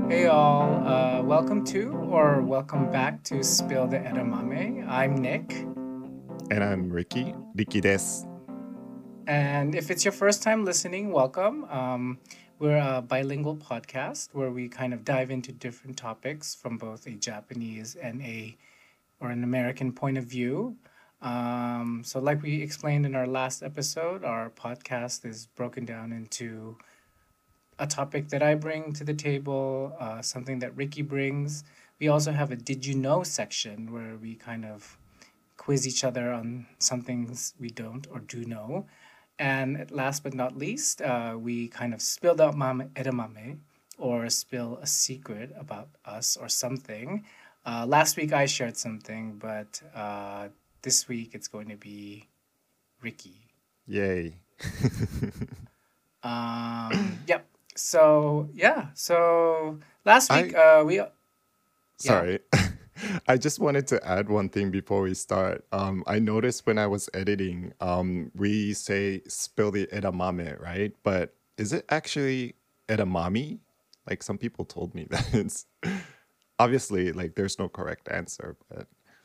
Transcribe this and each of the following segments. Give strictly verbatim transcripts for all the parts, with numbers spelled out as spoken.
Hey all, uh, welcome to or welcome back to Spill the Edamame. I'm Nick, And I'm Ricky. Ricky des. and if it's your first time listening, welcome. Um, we're a bilingual podcast where we kind of dive into different topics from both a Japanese and a or an American point of view. Um, so, like we explained in our last episode, our podcast is broken down into a topic that I bring to the table, uh, something that Ricky brings. We also have a Did You Know section where we kind of quiz each other on some things we don't or do know. And last but not least, uh, we kind of spilled out mame edamame or spill a secret about us or something. Uh, last week I shared something, but uh, this week it's going to be Ricky. Yay. Um, yep. So yeah. So last week, I uh, we yeah. sorry. I just wanted to add one thing before we start. Um, I noticed when I was editing, um, we say spill the edamame, right? But is it actually edamame? Like some people told me that it's obviously like there's no correct answer, but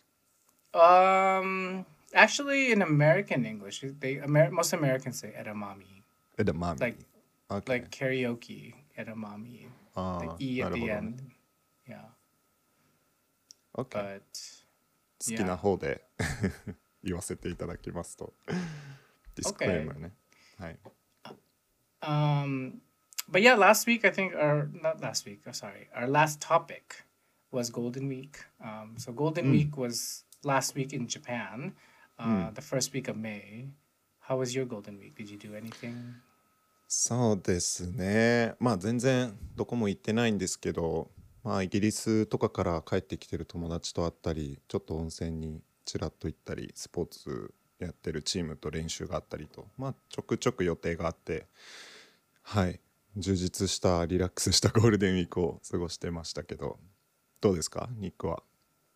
Um, actually, in American English, they Amer- most Americans say edamame, like edamame. Okay. like karaoke edamame, the Ah, e at the なるほどね。 end. Yeah, Okay. but 好きな yeah. 方で言わせていただきますと。ディスクレーマ Okay. ーね。はい。 Um, but yeah, last week I think, or not last week. Oh, sorry, our last topic was Golden Week. Um, so Golden うん。 Week was last week in Japan, う uh, ん。 the first week of May. How was your Golden Week? Did you do anything? そうですね。まあ全然どこも行ってないんですけど、まあイギリスとかから帰ってきてる友達と会ったり、ちょっと温泉にちらっと行ったり、スポーツやってるチームと練習があったりと、まあちょくちょく予定があって、はい。充実したリラックスしたゴールデンウィークを過ごしてましたけど、どうですかニックは？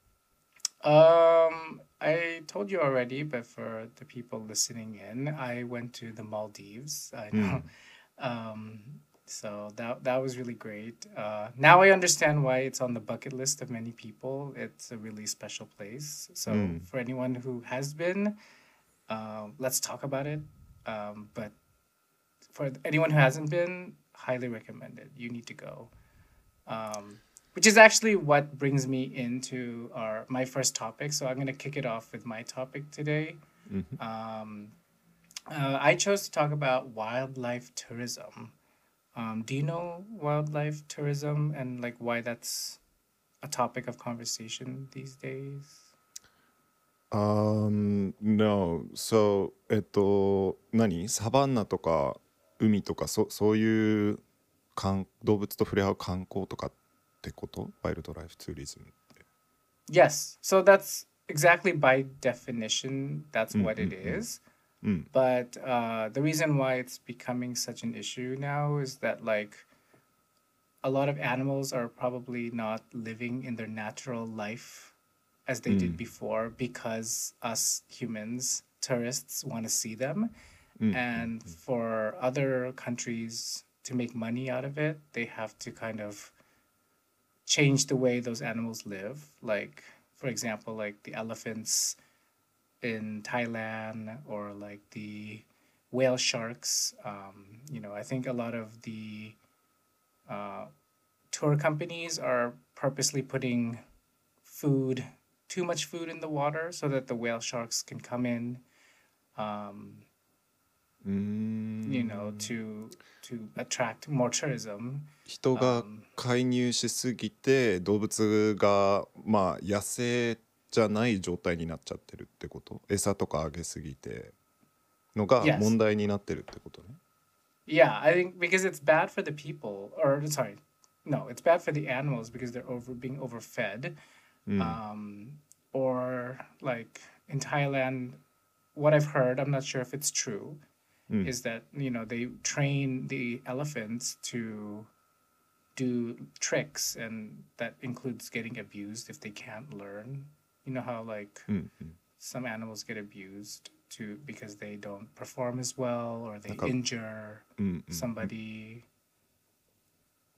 Um, I told you already, but for the people listening in, I went to the Maldives. I う know. ん。 Um, so that that was really great. Uh, now I understand why it's on the bucket list of many people. It's a really special place. う So ん。 for anyone who has been, um, let's talk about it. Um, but for anyone who hasn't been, highly recommend it. You need to go. Um, which is actually what brings me into our my first topic. So I'm gonna kick it off with my topic today. うん。 Um, uh, I chose to talk about wildlife tourism. Um, do you know wildlife tourism and like why that's a topic of conversation these days? Um, no. So, えっと、何サバンナとか海とかそ、そういう観動物と触れ合う観光とかってことワイルドライフツーリズムって。 Yes. So that's exactly by definition, that's うん what う it んうん。 is. うん。 But uh, the reason why it's becoming such an issue now is that like a lot of animals are probably not living in their natural life as う they did ん。 before because us humans, tourists, want to see them. うんうん And for other countries to make money out of it, they have to kind of change the way those animals live. Like, for example, like the elephants in Thailand or like the whale sharks. Um, you know, I think a lot of the uh, tour companies are purposely putting food, too much food in the water so that the whale sharks can come in, um, うー you know, ん。 to to attract more tourism. 人が Um, 介入しすぎて動物がまあ野生じゃない状態になっちゃってるってこと餌とかあげすぎてのが問 yes, 題になってるってことね。 yeah, I think because it's bad for the people, or sorry, no, it's bad for the animals because they're over being overfed. うん。 Um, or like in Thailand, what I've heard, I'm not sure if it's true, うん。 is that you know they train the elephants to do tricks, and that includes getting abused if they can't learn. You know how like うん。うん。 some animals get abused to because they don't perform as well or なん they か、 injure うんうんうん。 somebody.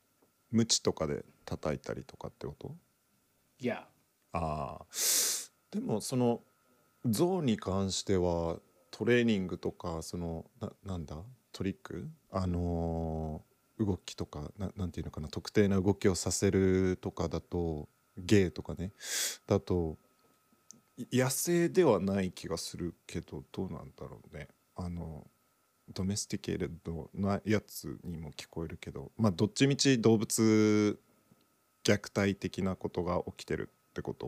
ムチとかで叩いたりとかってこと？ Yeah. ああ、でもその象に関してはトレーニングとかそのな、なんだトリックあのー動きとかな、なんていうのかな特定な動きをさせるとかだと芸とかねだとい野生ではない気がするけどどうなんだろうね。あのドメスティケーレッドなやつにも聞こえるけどまあどっちみち動物虐待的なことが起きてるってこと？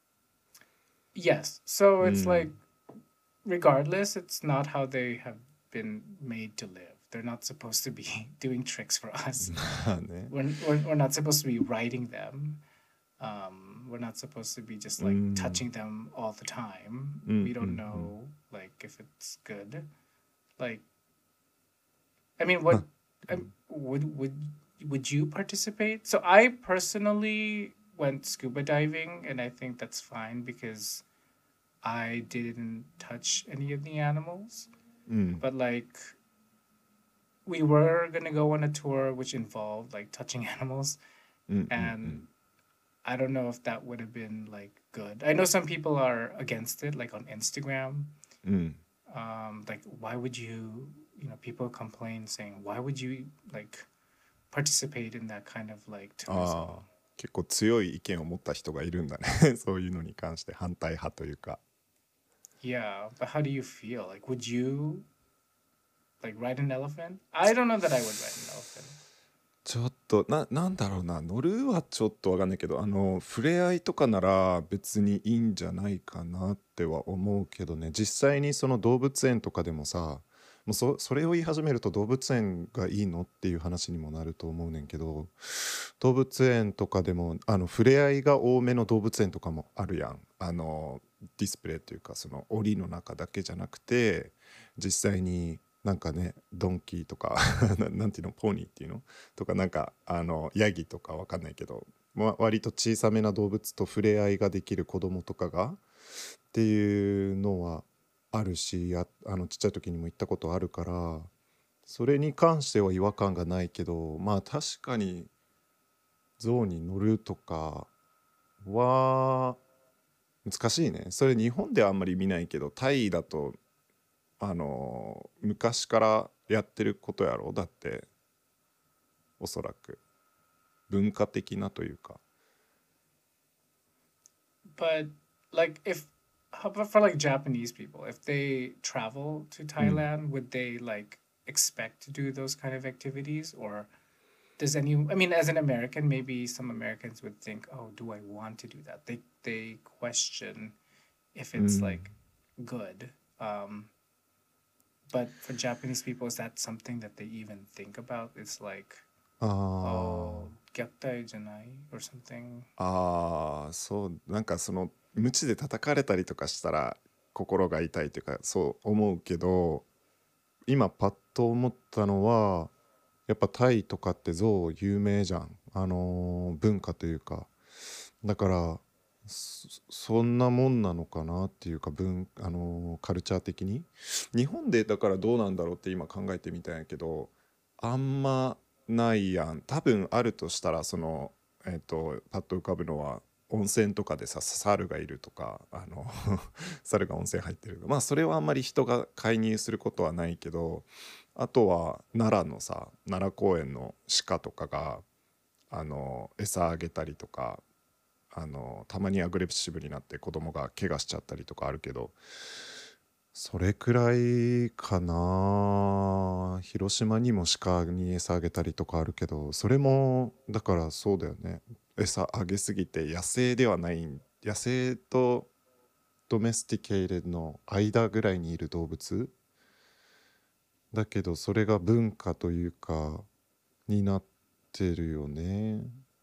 Yes. So う it's like, ん。 regardless, it's not how they have been made to live. They're not supposed to be doing tricks for us. まあね。 We're, we're, we're not supposed to be riding them. Um, we're not supposed to be just う like ん touching them all the time. うん We う don't んうん。 know like if it's good. Like, I mean, ま what あ、う um, ん would would would you participate? So I personally went scuba diving, and I think that's fine because I didn't touch any of the animals. うん But like, we were gonna go on a tour which involved like touching animals, うんうんうん and I don't know if that would have been like good. I know some people are against it, like on Instagram. うん。 Um, like, why would you, you know, people complain saying, why would you like participate in that kind of like ああ tourism? 結構強い意見を持った人がいるんだねそういうのに関して反対派というか。 Yeah, but how do you feel? Like, would you like ride an elephant? I don't know that I would ride an elephant. ちょっとな、なんだろうな乗るはちょっとわかんないけどあの触れ合いとかなら別にいいんじゃないかなっては思うけどね。実際にその動物園とかでもさもうそ、それを言い始めると動物園がいいのっていう話にもなると思うねんけど動物園とかでもあの触れ合いが多めの動物園とかもあるやん。あのディスプレイというかその檻の中だけじゃなくて実際になんかねドンキーとかななんていうのポニーっていうのとかなんかあのヤギとかわかんないけど、ま、割と小さめな動物と触れ合いができる子供とかがっていうのはあるしあ、あのちっちゃい時にも行ったことあるからそれに関しては違和感がないけどまあ確かに象に乗るとかは難しいね。それ日本ではあんまり見ないけどタイだとあの昔からやってることやろだっておそらく文化的なというか。 But like, if how about for like Japanese people, if they travel to うん Thailand, would they like expect to do those kind of activities, or does any? I mean, as an American, maybe some Americans would think, "Oh, do I want to do that?" They they question if う it's ん like good. Um, but for Japanese people, is that something that they even think about? It's like, あ oh, 虐待じゃない or something. ああーそうなんかその鞭で叩かれたりとかしたら心が痛いというかそう思うけど今パッと思ったのはやっぱタイとかって象有名じゃんあのー文化というかだからそそんなもんなのかなっていうか文あのーカルチャー的に日本でだからどうなんだろうって今考えてみたんやけどあんまないやん。多分あるとしたらそのえっとパッと浮かぶのは温泉とかでさ猿がいるとかあの猿が温泉入ってるまあそれはあんまり人が介入することはないけどあとは奈良のさ奈良公園の鹿とかがあの餌あげたりとかあのたまにアグレッシブになって子供が怪我しちゃったりとかあるけどそれくらいかな。広島にも鹿に餌あげたりとかあるけどそれもだからそうだよね。餌あげすぎて野生ではない野生とドメスティケイレの間ぐらいにいる動物だけどそれが文化というかになってるよね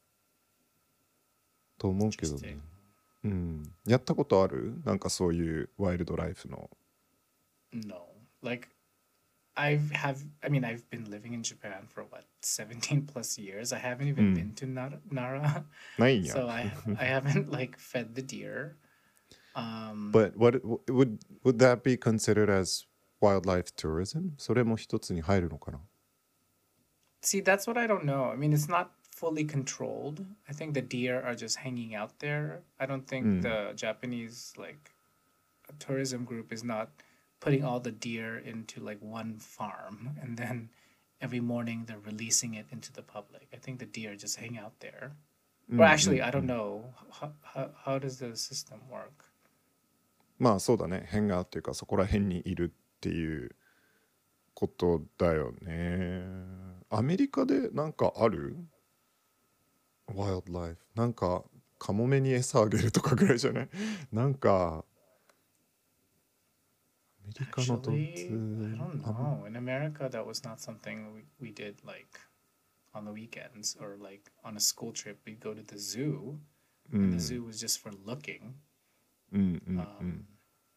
と思うけどね。 Interesting. うん、やったことあるなんかそういうワイルドライフの。 No. Like, I've have I mean, I've been living in Japan for what, seventeen plus years. I haven't う even ん been to Nara, Nara. ないんや。 So I I haven't like fed the deer. Um But what would would that be considered as wildlife tourism? それも一つに入るのかな。 see, that's what I don't know. I mean, it's not fully controlled. I think the deer are just hanging out there. I don't う think ん the Japanese like tourism group is not putting all the deer into like one farm and then every morning they're releasing it into the public. I think the deer just hang out there. うんう Or ん actually, I う don't ん know. How, how, how does the system work? まあそうだね、変がっていうかそこら辺にいるっていうことだよね。アメリカでなんかある？ワイルドライフなんかカモメに餌あげるとかぐらいじゃない？なんかアメリカの動 Actually, I 物 don't あん know. In America, that was not something we, we did like on the weekends or like on a school trip. We'd go to the zoo, う and the ん zoo was just for looking. うんうんうん Um,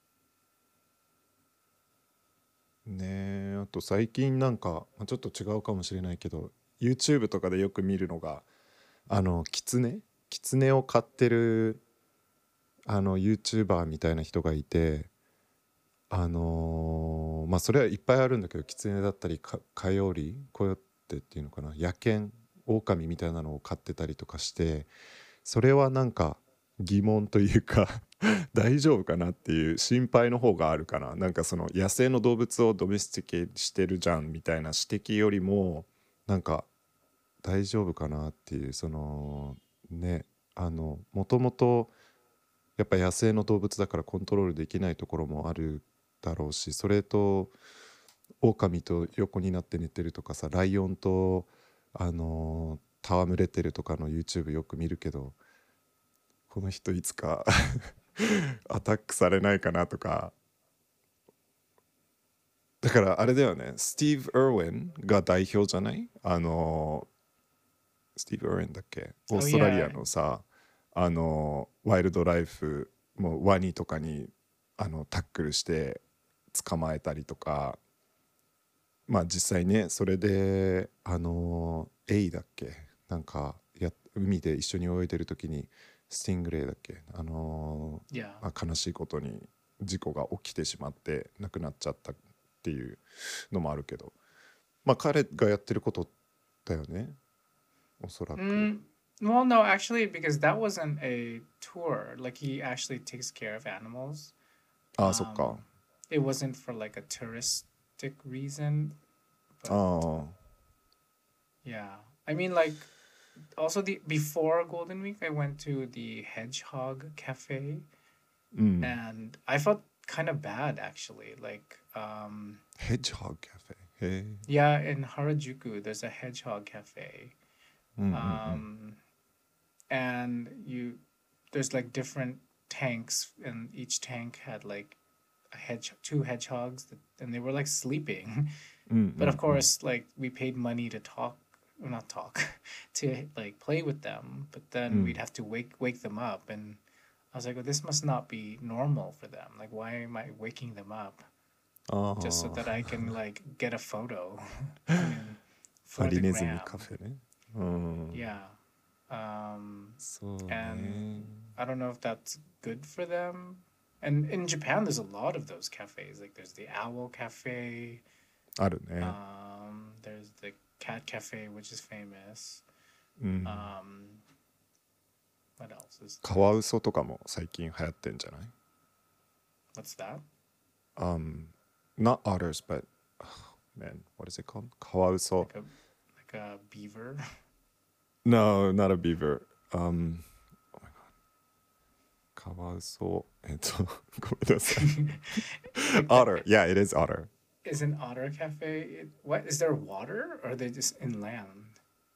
ねえ、あと最近なんかまあちょっと違うかもしれないけど YouTube とかでよく見るのがあのキツネキツネを飼ってるあの YouTuber みたいな人がいて、あのーまあそれはいっぱいあるんだけど、キツネだったりかカヨリコヨッテっていうのかな、野犬狼みたいなのを飼ってたりとかして、それはなんか疑問というか大丈夫かなっていう心配の方があるかな。なんかその野生の動物をドメスティケしてるじゃんみたいな指摘よりも、なんか大丈夫かなっていう、そのね、あのもともとやっぱ野生の動物だからコントロールできないところもあるだろうし、それと狼と横になって寝てるとかさ、ライオンとあの戯れてるとかの YouTube よく見るけど、この人いつかアタックされないかなとか。だからあれだよね、スティーブ・エルウィンが代表じゃない？あのスティーブ・エルウィンだっけ、オー oh ストラリア yeah, のさ、あのワイルドライフもうワニとかにあのタックルして捕まえたりとか、まあ実際ね、それであのエイだっけ、なんかや海で一緒に泳いでる時にスティングレイだっけ、あの yeah. まあ、悲しいことに事故が起きてしまって亡くなっちゃったっていうのもあるけど、まあ彼がやってることだよね、おそらく。 Mm, well, no, actually, because that wasn't a tour. Like he actually takes care of animals. ああそっか。 Um, it wasn't for like a touristic reason, あ but あ yeah. I mean, like also the before Golden Week, I went to the Hedgehog Cafe, うん。 and I felt kind of bad actually. Like, um, ヘッジホッグカフェ、へえ。 yeah, in Harajuku, there's a Hedgehog Cafe. うんうんうん Um, and you, there's like different tanks, and each tank had like a hedge, two hedgehogs, that, and they were like sleeping. うん But う of んうん course, like we paid money to talk, or not talk, to like play with them. But う then we'd ん have to wake wake them up, and I was like, well, this must not be normal for them. Like, why am I waking them up あ just so あ that I can like get a photo? I mean, ハ for the リネズミカ gram. フェね。うん。 Yeah. Um, そうね。 and I don't know if that's good for them. And in Japan, there's a lot of those cafes. Like, there's the Owl Cafe. あるね。 Um, there's the Cat Cafe, which is famous. うん。 Um, what else is カワウソとかも最近流行ってんじゃない？ what's that? Um, not otters, but oh, man, what is it called? カワウソ。 Like a like a beaver. No, not a beaver. Um, oh my god. カワウソ。えっと、ごめんなさい。 Like the, Otter. Yeah, it is otter. is an otter cafe? It, what is there water, or are they just in land?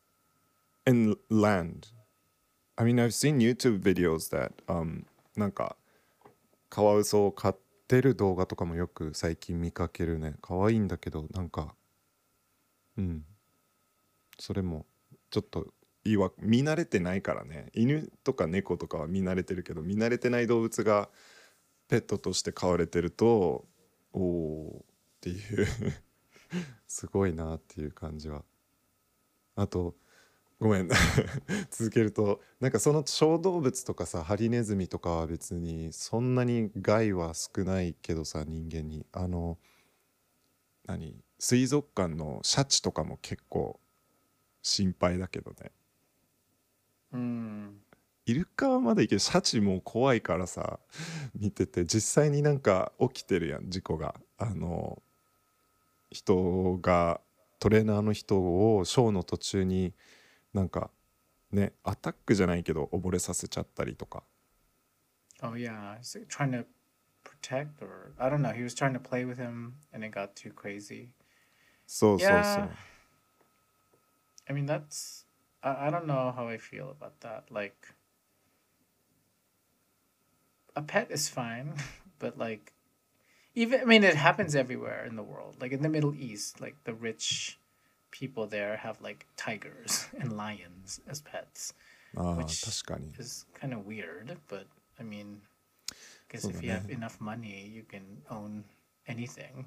In land. I mean, I've seen YouTube videos that, um, なんかカワウソを飼ってる動画とかもよく最近見かけるね。可愛いんだけど、なんか、うん。それもちょっといいわ、見慣れてないからね。犬とか猫とかは見慣れてるけど、見慣れてない動物がペットとして飼われてると、おおっていうすごいなっていう感じは。あとごめん続けると、なんかその小動物とかさ、ハリネズミとかは別にそんなに害は少ないけどさ、人間にあの何水族館のシャチとかも結構心配だけどね。 Mm. イルカはまだいいけどシャチも怖いからさ見てて実際になんか起きてるやん事故があの人がトレーナーの人をショーの途中になんかねアタックじゃないけど溺れさせちゃったりとか Oh yeah, he's like, trying to protect, or I don't know. He was trying to play with him, and it got too crazy. そうそうそ Yeah, う I mean that's. I, I don't know how I feel about that. Like a pet is fine, but like even I mean it happens everywhere in the world. Like in the Middle East, like the rich people there have like tigers and lions as pets, ああ which 確かに is kind of weird. But I mean, I guess そうだ if you ね have enough money, you can own anything.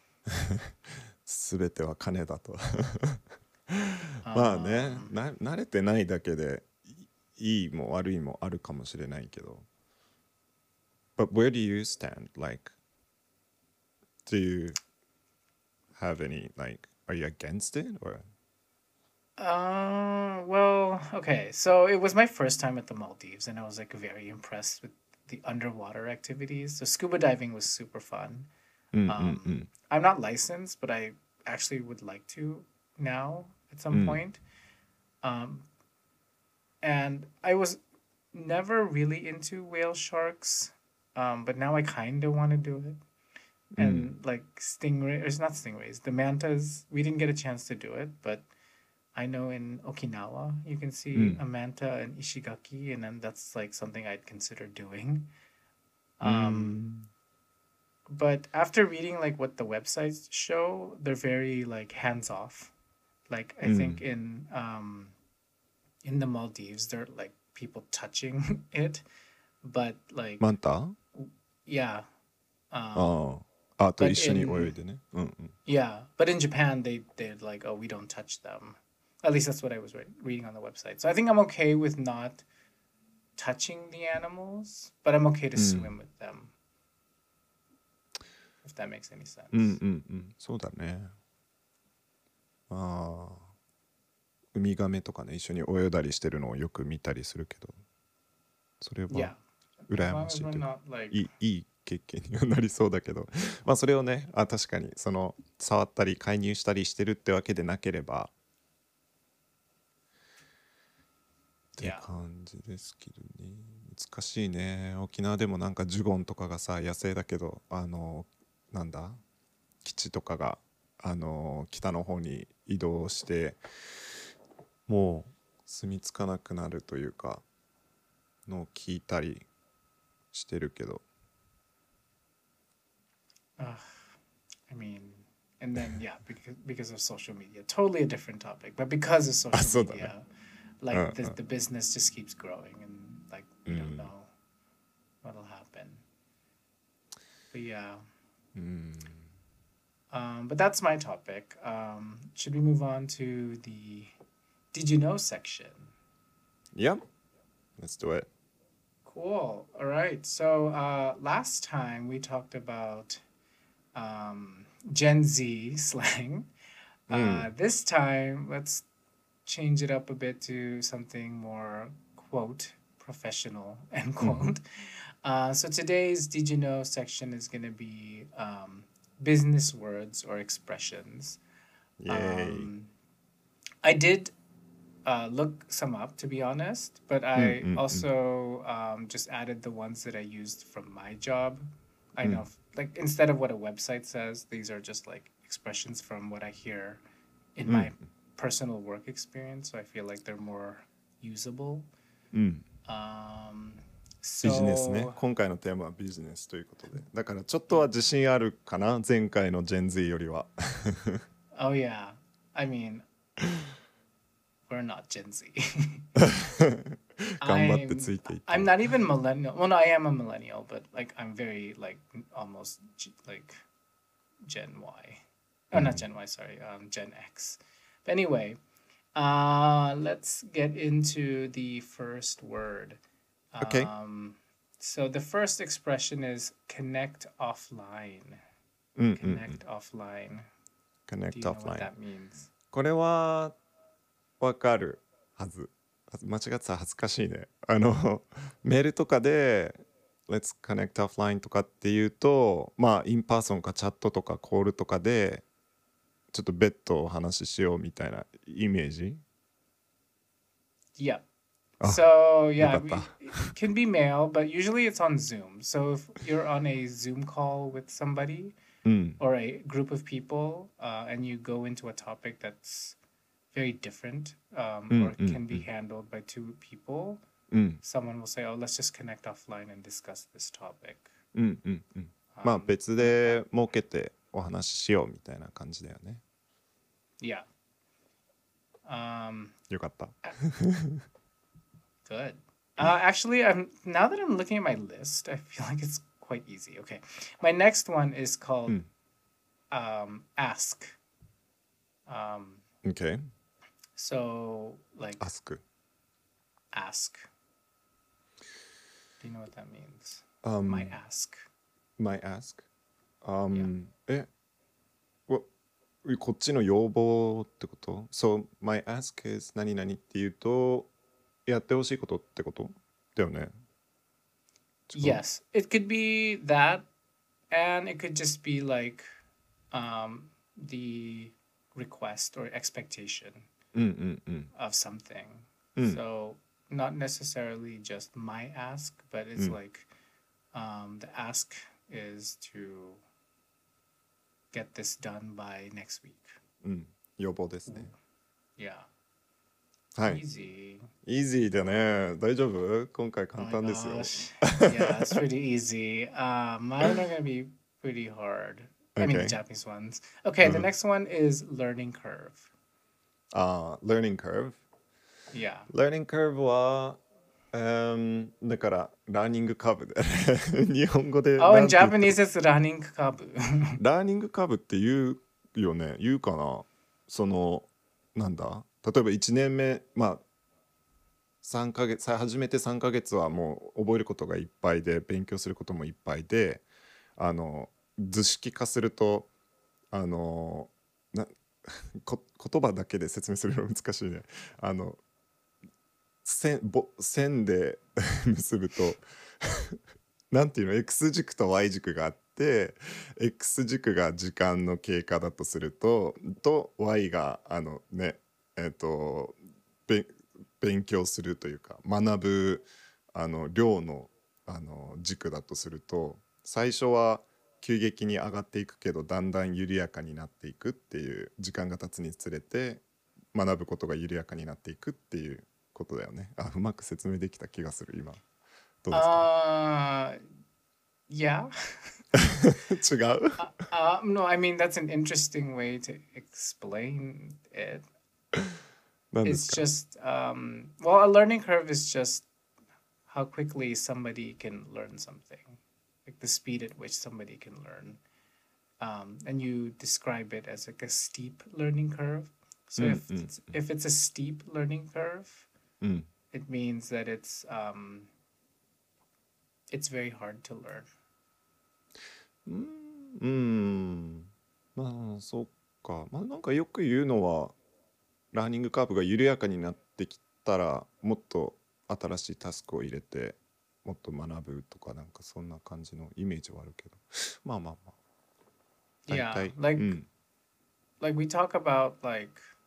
全ては金だとまあね Um, な慣れてないだけでいいいも悪いもあるかもしれないけど But where do you stand? Like do you have any like are you against it or uh, well, okay. So it was my first time at the Maldives, and I was like very impressed with the underwater activities. So scuba diving was super fun. うんうんう Um, ん I'm not licensed, but I actually would like to now at う some ん point. Um, and I was never really into whale sharks, um, but now I kind of want to do it. うん And like stingray, or it's not stingrays, the mantas. We didn't get a chance to do it, but I know in Okinawa you can う see ん a manta and ishigaki, and then that's like something I'd consider doing. う Um, ん but after reading like what the websites show, they're very like hands off. Like う I think ん in um in the Maldives, they're like people touching it, but マ like ンタ yeah, um, あああと一 but 緒に泳い in でねうんうん yeah, but in Japan they they're like oh we don't touch them. At least that's what I was re- reading on the website. So I think I'm okay with not touching the animals, but I'm okay to うん swim with them if that makes any うんう sense. んうんそうだねああウミガメとかね一緒に泳いだりしてるのをよく見たりするけどそれは Yeah, as 羨ま long as しい we're というか not like いいいい経験にはなりそうだけどまあそれをねあ確かにその触ったり介入したりしてるってわけでなければって yeah. 感じですけどね難しいね沖縄でもなんかジュゴンとかがさ野生だけどあのなんだ基地とかがあの北の方に移動してもう住み着かなくなるというかのを聞いたりしてるけど Uh, I mean, and then yeah, because because of social media, totally a different topic. But because of あ social そうだね media, うん like う the ん the business just keeps growing, and like う we don't ん know what'll happen. But yeah, うん um, but that's my topic. Um, should we move on to the did you know section? Yeah, let's do it. Cool. All right. So uh, last time we talked about um, Gen Z slang. う Uh, ん this time, let's change it up a bit to something more quote professional end うん quote. Uh, so today's Did You Know section is going to be um, business words or expressions. イエーイ Um, I did uh, look some up to be honest, but うんう I んうん also um, just added the ones that I used from my job. I う know, ん like instead of what a website says, these are just like expressions from what I hear in うん my personal work experience. So I feel like they're more usable. うん Um, ビジネスね so 今回のテーマはビジネスということでだからちょっとは自信あるかな前回の Gen Z よりは oh yeah, I mean we're not Gen Z. 頑張ってつ I'm いていって I'm not even millennial. Well, no, I am a millennial, but like I'm very like almost G- like Gen Y. Oh, not Gen Y. Sorry, um, Gen X. But anyway, uh, let's get into the first word. Okay. Um, so the first expression is connect offline. うんうんうん Connect offline. Do Connect you know what offline that means? これはわかるはず間違ってたら恥ずかしいね。あのメールとかで Let's connect offline とかっていうと、まあインパーソンかチャットとかコールとかでちょっと別途お話ししようみたいなイメージ。 Yeah. あ、 So よ yeah, かった。 we, it can be mail, but usually it's on Zoom. So if you're on a Zoom call with somebody うん or a group of people, uh, and you go into a topic that's very different, う um, ん or うん can う be ん handled by two people, うん someone will say, "Oh, let's just connect offline and discuss this topic." うんうんうん。まあ Um, 別 like that. で設けてお話ししようみたいな感じだよね。 Yeah. Um, よかった。 good. Uh, actually, I'm now that I'm looking at my list, I feel like it's quite easy. Okay, my next one is う called ん um, ask. Um, OK so like ask ask. Do you know what that means? My um ask. my ask Yeah. um えわこっちの要望ってこと？ So my ask is 何々っていうとやってほしいことってことだよね。違う？ Yes, it could be that, and it could just be like um, the request or expectation うんうんうん of something. うん So not necessarily just my ask, but う it's ん like um, the ask is to get this done by next week. うん要望ですね。 Yeah. はい。 Easy. イージーだね。大丈夫？今回 Oh 簡 my 単ですよ。 gosh. Yeah, it's pretty easy. Uh, mine are gonna be pretty hard. I mean, the OK Japanese ones. Okay, う the ん next one is learning curve. あー learning curve Yeah. learning curve は、um, だからラーニングカーブで日本語で Oh, な in んて言ったら Japanese, it's running kabu. ラーニングカーブって言うよね。言うかな。そのなんだ例えばいちねんめまあさんかげつさ始めてさんかげつはもう覚えることがいっぱいで勉強することもいっぱいであの図式化するとあのなこ言葉だけで説明するの難しいね。あの線ぼ線で結ぶとなんていうの X 軸と Y 軸があって X 軸が時間の経過だとするとと Y があのねえっ、とべ勉強するというか学ぶあの量のあの軸だとすると最初は急激に上がっていくけどだんだん緩やかになっていくっていう時間が経つにつれて学ぶことが緩やかになっていくっていうことだよね。あ、うまく説明できた気がする今。どうですか？ Uh, yeah. 違う？ Uh, uh, no, I mean, that's an interesting way to explain it. 何で It's すか？ just, um, well, a learning curve is just how quickly somebody can learn something, like the speed at which somebody can learn. Um, and you describe it as like a steep learning curve. So うん if うん it's, if it's a steep learning curve, うん it means that it's um, it's very hard to learn. うーんうーんまあそうか。まあなんかよく言うのはラーニングカーブが緩やかになってきたらもっと新しいタスクを入れてもっと学ぶとかなんかそんな感じのイメージはあるけどまあまあまあ大 Yeah, 体 like うん like we talk about like,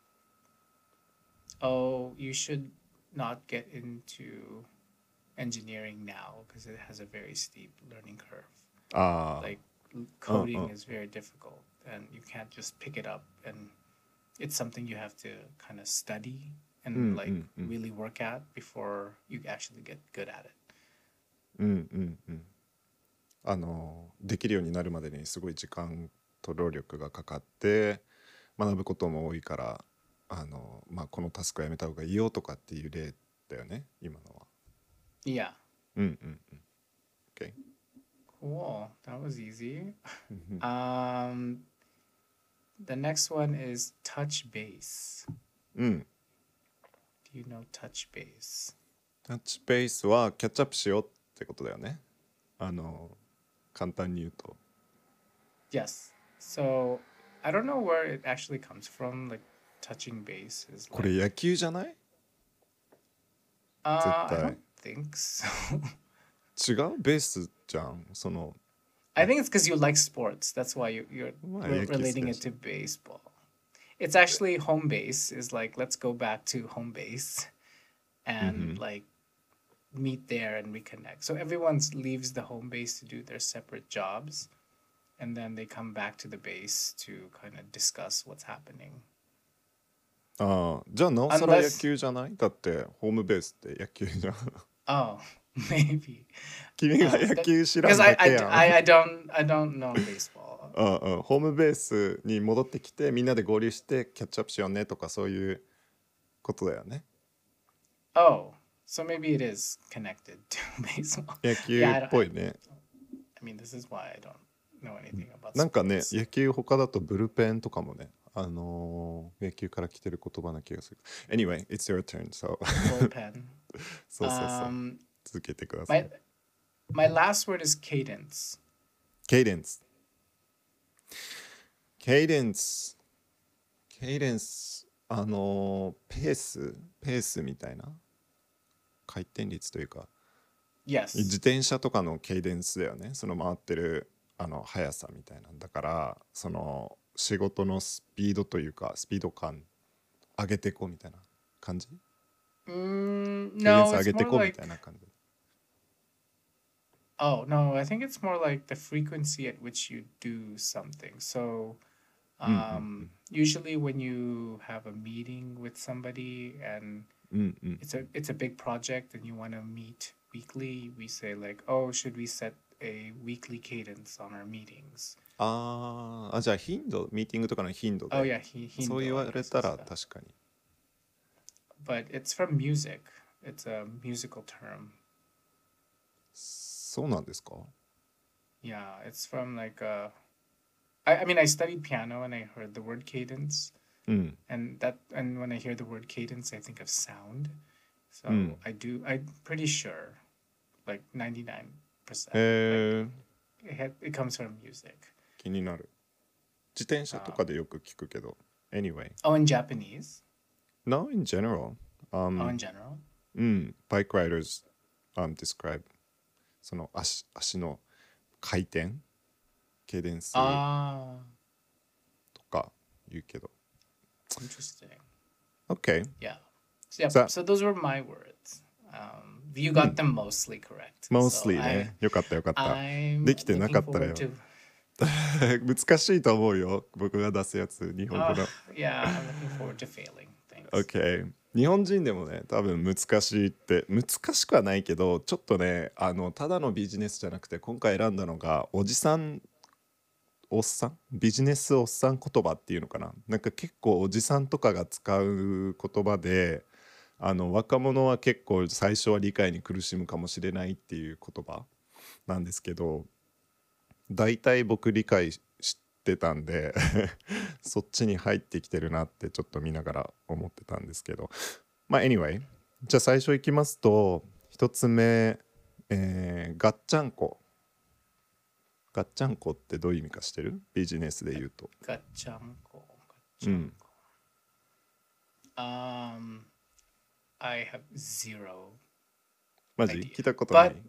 oh, you should not get into engineering now because it has a very steep learning curve. ああ Like l- うんう coding ん is very difficult and you can't just pick it up, and it's something you have to kind of study う and ん like うんうん really work at before you actually get good at it. うんうんうんあのできるようになるまでにすごい時間と労力がかかって学ぶことも多いからあの、まあ、このタスクやめた方がいいよとかっていう例だよね今のは。 Yeah. うんうんうん OK Cool. That was easy. うん Um, the next one is touch base. うん Do you know touch base? タッチベースはキャッチアップしようってことだよね。あの簡単に言うと Yes. So I don't know where it actually comes from. Like touching base is これ like 野球じゃない？ 絶 Uh, I 対 don't think so. 違うベースじゃんその I think it's because you like sports. That's why you, you're まあ re- 野球好き relating だ it し to baseball. It's actually home base is like let's go back to home base うんう and ん like meet there and reconnect. So everyone leaves the home base to do their separate jobs and then they come back to the base to kind of discuss what's happening. ああじゃあなおさら野 Unless 球じゃないだってホームベースって野球じゃん oh, maybe. 君が Uh, 野 that, 球知ら because ん I, だ I, け d- やん I, I don't I don't know baseball. うんうんホームベースに戻ってきてみんなで合流してキャッチアップしようねとかそういうことだよね Oh, so maybe it is connected to baseball. 野 Yeah, 球 I, っ don't, ぽ I, いね I mean, this is why I don't know anything about なんかね sports. 野球他だとブルペンとかもねあのー野球から来てる言葉な気がする Anyway, it's your turn so Bullpen. そうそうそう Um, 続けてください my my last word is cadence. ケイデンスケイデンスケイデンスあのーペースペースみたいな回転率というか Yes. 自転車とかのケイデンスだよねその回ってるあの速さみたいなんだからその仕事のスピードというかスピード感上げてこみたいな感じ Mm, ケイデン no, ス上 it's げて more こみ like たいな感じ oh no, I think it's more like the frequency at which you do something. So, うんうん um, usually when you have a meeting with somebody and うんうん it's a it's a big project and you want to meet weekly, we say like, oh, should we set a weekly cadence on our meetings? あーあじゃあ頻度ミーティングとかの頻度 Oh で yeah, he そう言 hindo, わ I れ guess た is ら the. 確かに But it's from music. It's a musical term. そうなんですか Yeah, it's from like uh I, I mean I studied piano and I heard the word cadence うん and that and when I hear the word cadence I think of sound. So うん I do I'm pretty sure like ninety-nine percent へ like え it, had, it comes from music. 気になる自転車と Um, かでよく聞くけど Anyway oh, in Japanese? No in general Oh, in um, general? うん Bike riders um, describe その足足の回転ケイデンス Ah, とか言うけど interesting. OK Yeah. So, yeah, So- so those were my words. Um, you got them mostly correct. Mostly So ねよかったよかった I, I'm できてなか looking ったらよ forward to. 難しいと思うよ僕が出すやつ日本語 Uh, の yeah, I'm looking forward to failing. Thanks. OK 日本人でもね多分難しいって難しくはないけどちょっとねあのただのビジネスじゃなくて今回選んだのがおじさんおっさんビジネスおっさん言葉っていうのかななんか結構おじさんとかが使う言葉であの若者は結構最初は理解に苦しむかもしれないっていう言葉なんですけど大体僕理解してたんでそっちに入ってきてるなってちょっと見ながら思ってたんですけどまあ anyway じゃあ最初いきますと一つ目、えー、ガッチャンコガッチャンコってどういう意味かしてるビジネスで言うと Gachanko. うん Um, I have zero マジ idea. 聞いたことな But い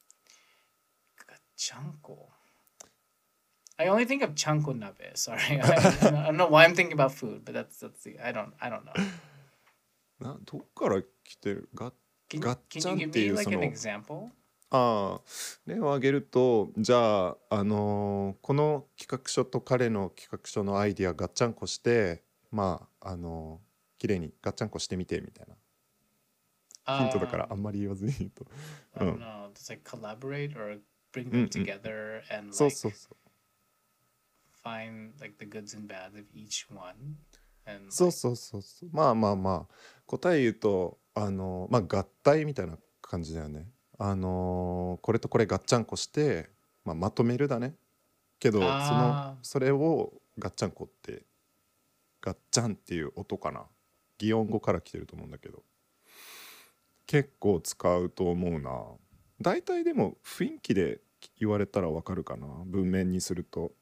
gachanko. I only think of chanko nabe. Sorry, I, I don't know why I'm thinking about food, but that's that's the I don't I don't know. などっから来てるガッ Can, Gachan can you give ってい me う like そ an の example? ああ例を挙げるとじゃあ、あのーこの企画書と彼の企画書のアイディアガッチャンコしてまああのー綺麗にガッチャンコしてみてみたいなヒントだから Um, あんまり言わずに言うと I う don't ん know. Just like collaborate or bring うんう them ん together and そう like そうそう find like the goods and bads of each one. And そう like, そうそうそうまあまあまあ答え言うとあのーまあ合体みたいな感じだよねあのーこれとこれガッチャンコして、まあ、まとめるだねけどそのあーそれをガッチャンコってガッチャンっていう音かな擬音語から来てると思うんだけど結構使うと思うな大体でも雰囲気で言われたらわかるかな文面にすると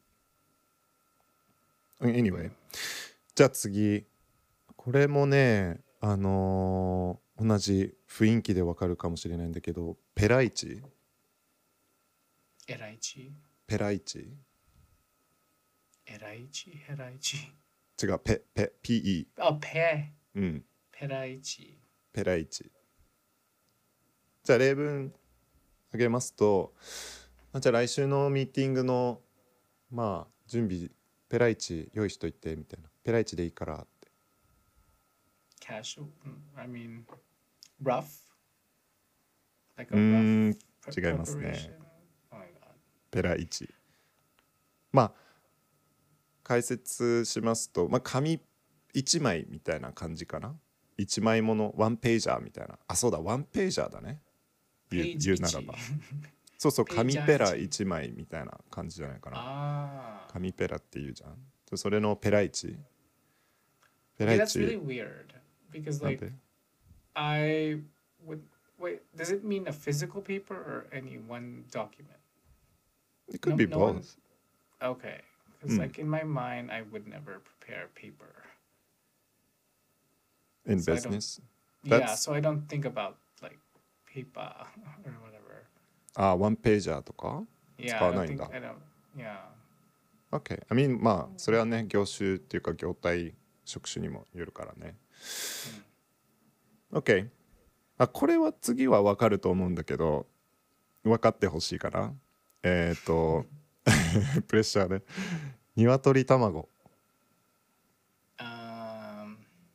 Anyway じゃあ次これもねあのー同じ雰囲気でわかるかもしれないんだけど、ペライチ、 エライチ、 ペライチ、 エライチ、ヘライチ。 違う、ペ、ペ、ピーイー、 あ、ペ、 うん、 ペライチ。 ペライチ。じゃあ例文あげますと、あじゃあ来週のミーティングのまあ準備ペライチ用意しといてみたいな、ペライチでいいからって。 Casual. mm, I mean, rough. Like う a rough ーん pre- 違いますね。 preparation. Oh my god. ペライチ、まあ解説しますと、まあ、紙いちまいみたいな感じかな。いちまいものワンページャーみたいな、あそうだワンページャーだね、言う、 Page 言うならいち。 ばそうそう、 ページャー紙ペラいち。 いちまいみたいな感じじゃないかな。 あ紙ペラって言うじゃん。でそれのペライチ、ペ a. ラ Okay, イ that's really チ weird because なん like で I would wait. Does it mean a physical paper or any one document? It could No, be no one. both. Okay, う because ん like in my mind, I would never prepare paper, in so I don't. business Yeah, that's so I don't think about like paper or whatever. あワンページャーとか Yeah, 使 I わな don't いんだ。 think I don't. Yeah. OK I mean まあそれはね業種っていうか業態職種にもよるからね。 OK あこれは次は分かると思うんだけど分かってほしいかな。えっ、ー、とプレッシャーね。鶏卵。 Um,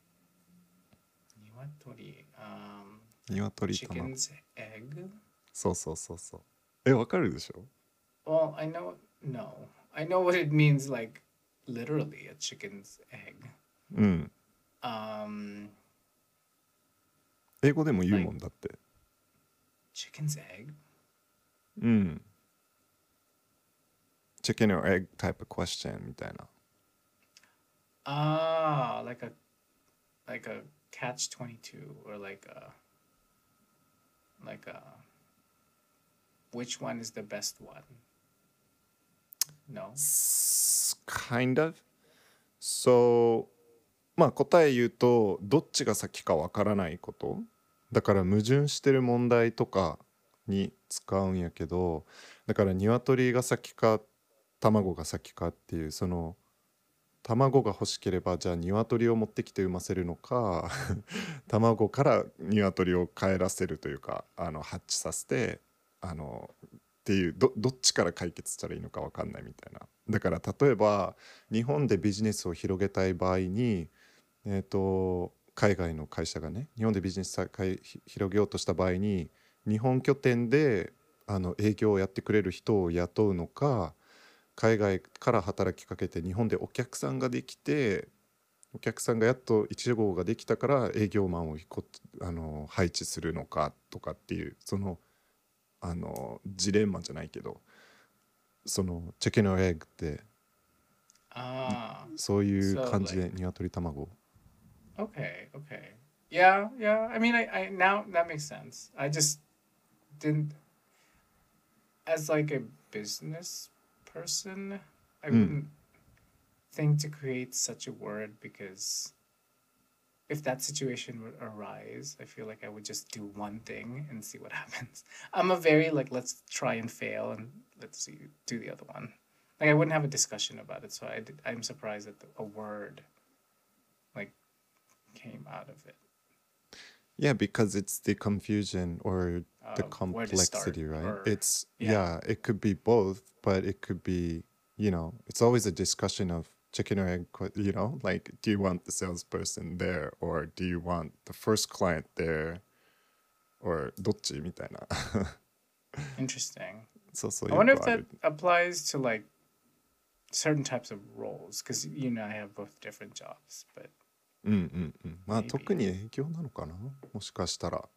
niwatori. Um, 鶏卵 chicken's egg. そうそうそうそう。え分かるでしょ。 Well, I know. No, I know what it means. Like literally a chicken's egg. うん Um, 英語でも言う like もんだって。 chicken's egg. うん Chicken or egg type of question みたいな。 Ah, like a like a catch twenty two or like a like a which one is the best one? No. Kind of. So まあ答え言うとどっちが先かわからないこと、だから矛盾してる問題とかに使うんやけど、だから鶏が先か卵が先かっていう、その卵が欲しければじゃあ鶏を持ってきて産ませるのか卵から鶏を帰らせるというか、あのハッチさせてあのっていう、どどっちから解決したらいいのか分かんないみたいな。だから例えば日本でビジネスを広げたい場合に、えー、と海外の会社がね日本でビジネスを広げようとした場合に日本拠点であの営業をやってくれる人を雇うのか、海外から働きかけて日本でお客さんができて、お客さんがやっといち号ができたから営業マンをこあの配置するのかとかっていう、そのあのジレンマじゃないけど、そのチキンオエッグって Ah, そういう so 感じ like で鶏卵。 okay, okay. Yeah, yeah. I mean, I, I now that makes sense. I just didn't as like a business person, I うん wouldn't think to create such a word because if that situation would arise, I feel like I would just do one thing and see what happens. I'm a very like let's try and fail and let's see do the other one. Like I wouldn't have a discussion about it, so I did, I'm surprised that the, a word like came out of it. Yeah, because it's the confusion or the Uh, where to start complexity, right? or It's yeah. yeah, it could be both, but it could be, you know, it's always a discussion of chicken or egg, que- you know, like do you want the salesperson there or do you want the first client there or どっちみたいな。 Interesting. そうそう I よ wonder く if あ that る。 applies to like certain types of roles because you know I have both different jobs, but うんうんうん。まあ maybe 特に営業なのかな、もしかしたら。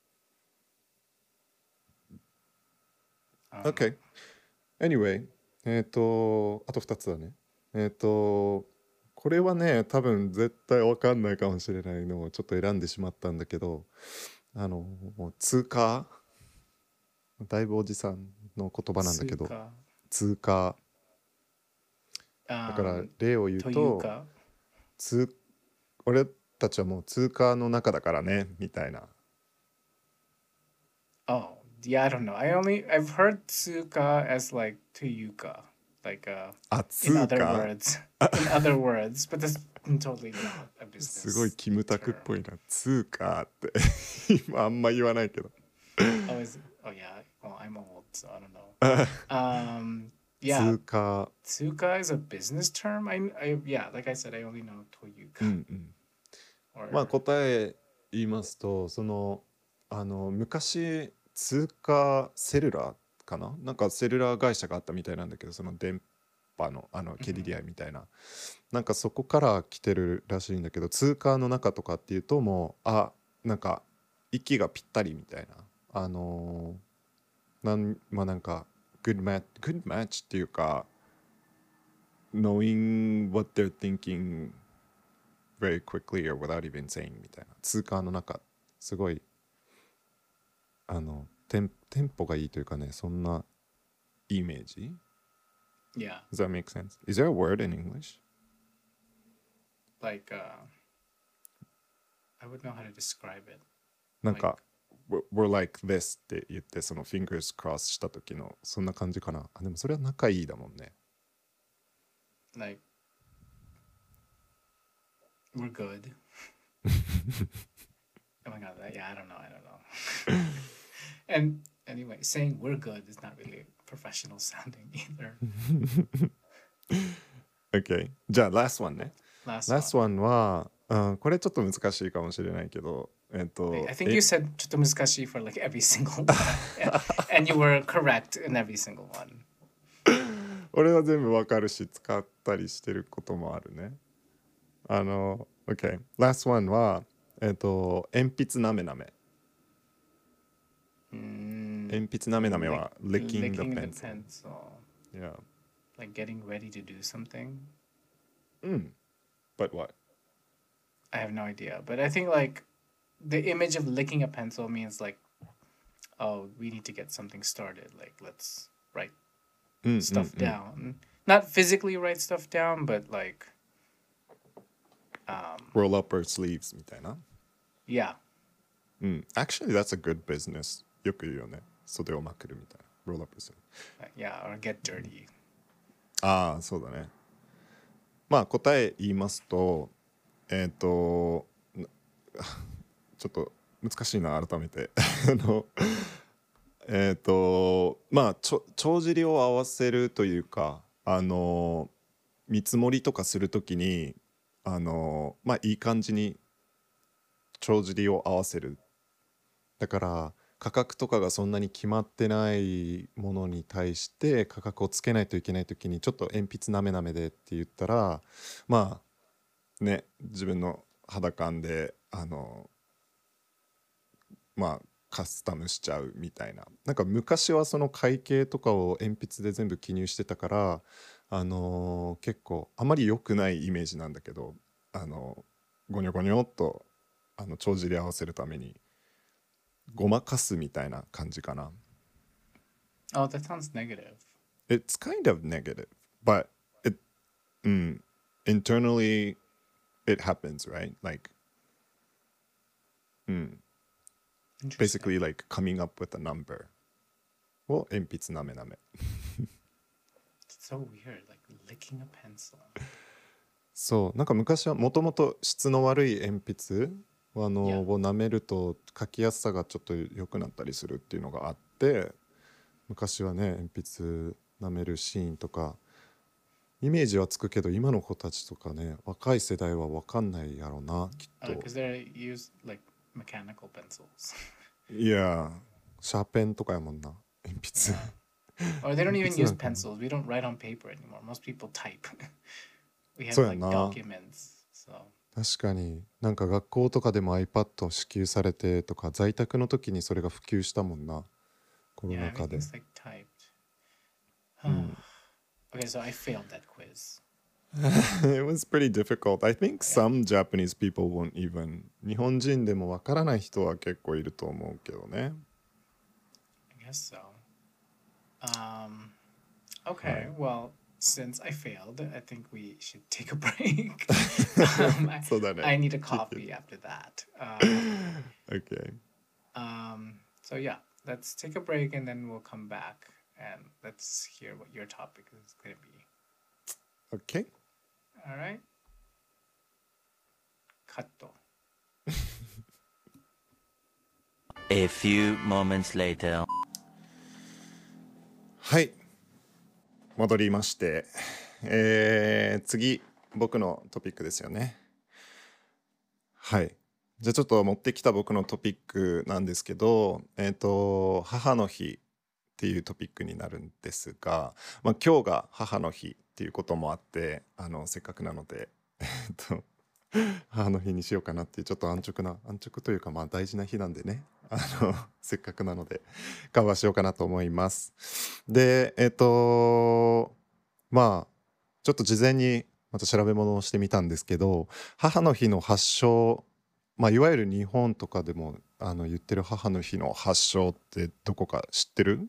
um, OK Anyway えっ、とあとふたつだね。えっ、とこれはね多分絶対わかんないかもしれないのをちょっと選んでしまったんだけど、あのもう通貨、だいぶおじさんの言葉なんだけど、 Suka, 通貨だから um, 例を言うと、 Toyuka. 通俺たちはもう通貨の中だからねみたいな Oh, yeah, I don't know. I only I've heard tsuka as like tuyuka, like uh あ、 in 通 other 貨 words, in other words, but that's totally not a すごい business キムタクっ term. ぽいな。通貨って今あんま言わないけど。 Oh, is it? Oh, yeah. Well, I'm old, so I don't know. あ Um, yeah, 通貨、 tsuka is a business term. I, I, yeah, like I said, I only know う toyuka んうん。まあ or 答え言いますと、その、あの、昔、通貨セルラーかななんかセルラー会社があったみたいなんだけど、その電波の、あの、ケリ mhm. リアみたいな。なんかそこから来てるらしいんだけど、通貨の中とかっていうともう、あ、なんか息がぴったりみたいな。あのーなんまあなんか good match good match っていうか knowing what they're thinking very quickly or without even saying みたいな。通貨の中すごいあのテンテンポがいいというかね、そんなイメージ。 Yeah, Does that make sense? Is there a word in English? like uh, I would know how to describe it. なん Like か we're, we're like this って言ってその fingers cross した時のそんな感じかな。あ、でもそれは仲いいだもんね。 like we're good. Oh my god, that, yeah, I don't know, I don't know. And anyway, saying we're good is not really professional sounding either. OK じゃあ last one ね。 Last last one. one は、うん、これちょっと難しいかもしれないけどえっ I, と I think え you said ちょっと難しい for like every single one. And you were correct in every single one. 俺は全部わかるし使ったりしてることもあるね。あの OK last one はえっと鉛筆なめなめ。 Mm, 鉛筆なめなめ lick, は licking the licking the pencil. pencil. Yeah. Like getting ready to do something. うん But what? I have no idea. But I think like the image of licking a pencil means like, oh, we need to get something started. Like let's write うんうんうん stuff down. Not physically write stuff down, but like um roll up our sleeves みたいな。 yeah. うん Actually that's a good business よく言うよね。袖をまくるみたいな。roll up our sleeves Uh, yeah, or get dirty. ああそうだね。まあ答え言いますとえっ、となちょっと難しいな改めてあのえっとまあちょ帳尻を合わせるというかあの見積もりとかするときにあのまあいい感じに帳尻を合わせる。だから価格とかがそんなに決まってないものに対して価格をつけないといけないときにちょっと鉛筆なめなめでって言ったらまあね自分の肌感であのまあカスタムしちゃうみたいな。なんか昔はその会計とかを鉛筆で全部記入してたからあのー結構あまり良くないイメージなんだけどあのゴニョゴニョっとあの帳尻合わせるためにごまかすみたいな感じかな。 Oh, that sounds negative. It's kind of negative but it、うん、internally it happens right like、うん、 Interesting. basically like coming up with a number を鉛筆なめなめ。 It's so weird, like licking a pencil. そうなんか昔はもともと質の悪い鉛筆あの Yeah. を舐めると書きやすさがちょっと良くなったりするっていうのがあって昔はね鉛筆舐めるシーンとかイメージはつくけど今の子たちとかね若い世代は分かんないやろうなきっ Uh, と。 because they use like mechanical pencils. いやシャーペンとかやもんな鉛筆。 Yeah. Or they don't 鉛 even 筆 use なんかも pencils. We don't write on paper anymore. Most people type. We have そうや like な。 documents. So 確かになんか学校とかでも iPad 支給されてとか在宅の時にそれが普及したもんなコロ yeah, ナ禍で。 everything's like typed. うん Okay, so I failed that quiz. It was pretty difficult. I think Yeah. some Japanese people won't even 日本人でもわからない人は結構いると思うけどね。 I guess so. Um, okay, Right. well, since I failed, I think we should take a break. um, I, そうだね。 I need a coffee after that. Um, Okay. um, so yeah, let's take a break and then we'll come back and let's hear what your topic is going to be. OK? All right? カット。 A few moments later. はい。戻りまして、えー、次、僕のトピックですよね。はい。じゃあちょっと持ってきた僕のトピックなんですけど、えっと、母の日っていうトピックになるんですが、まあ、今日が母の日っていうこともあって、あの、せっかくなので、えっと、母の日にしようかなっていうちょっと安直な、安直というかまあ大事な日なんでね、あの、せっかくなので、カバーしようかなと思います。で、えっと、まあ、ちょっと事前にまた調べ物をしてみたんですけど、母の日の発祥、まあ、いわゆる日本とかでもあの言ってる母の日の発祥ってどこか知ってる？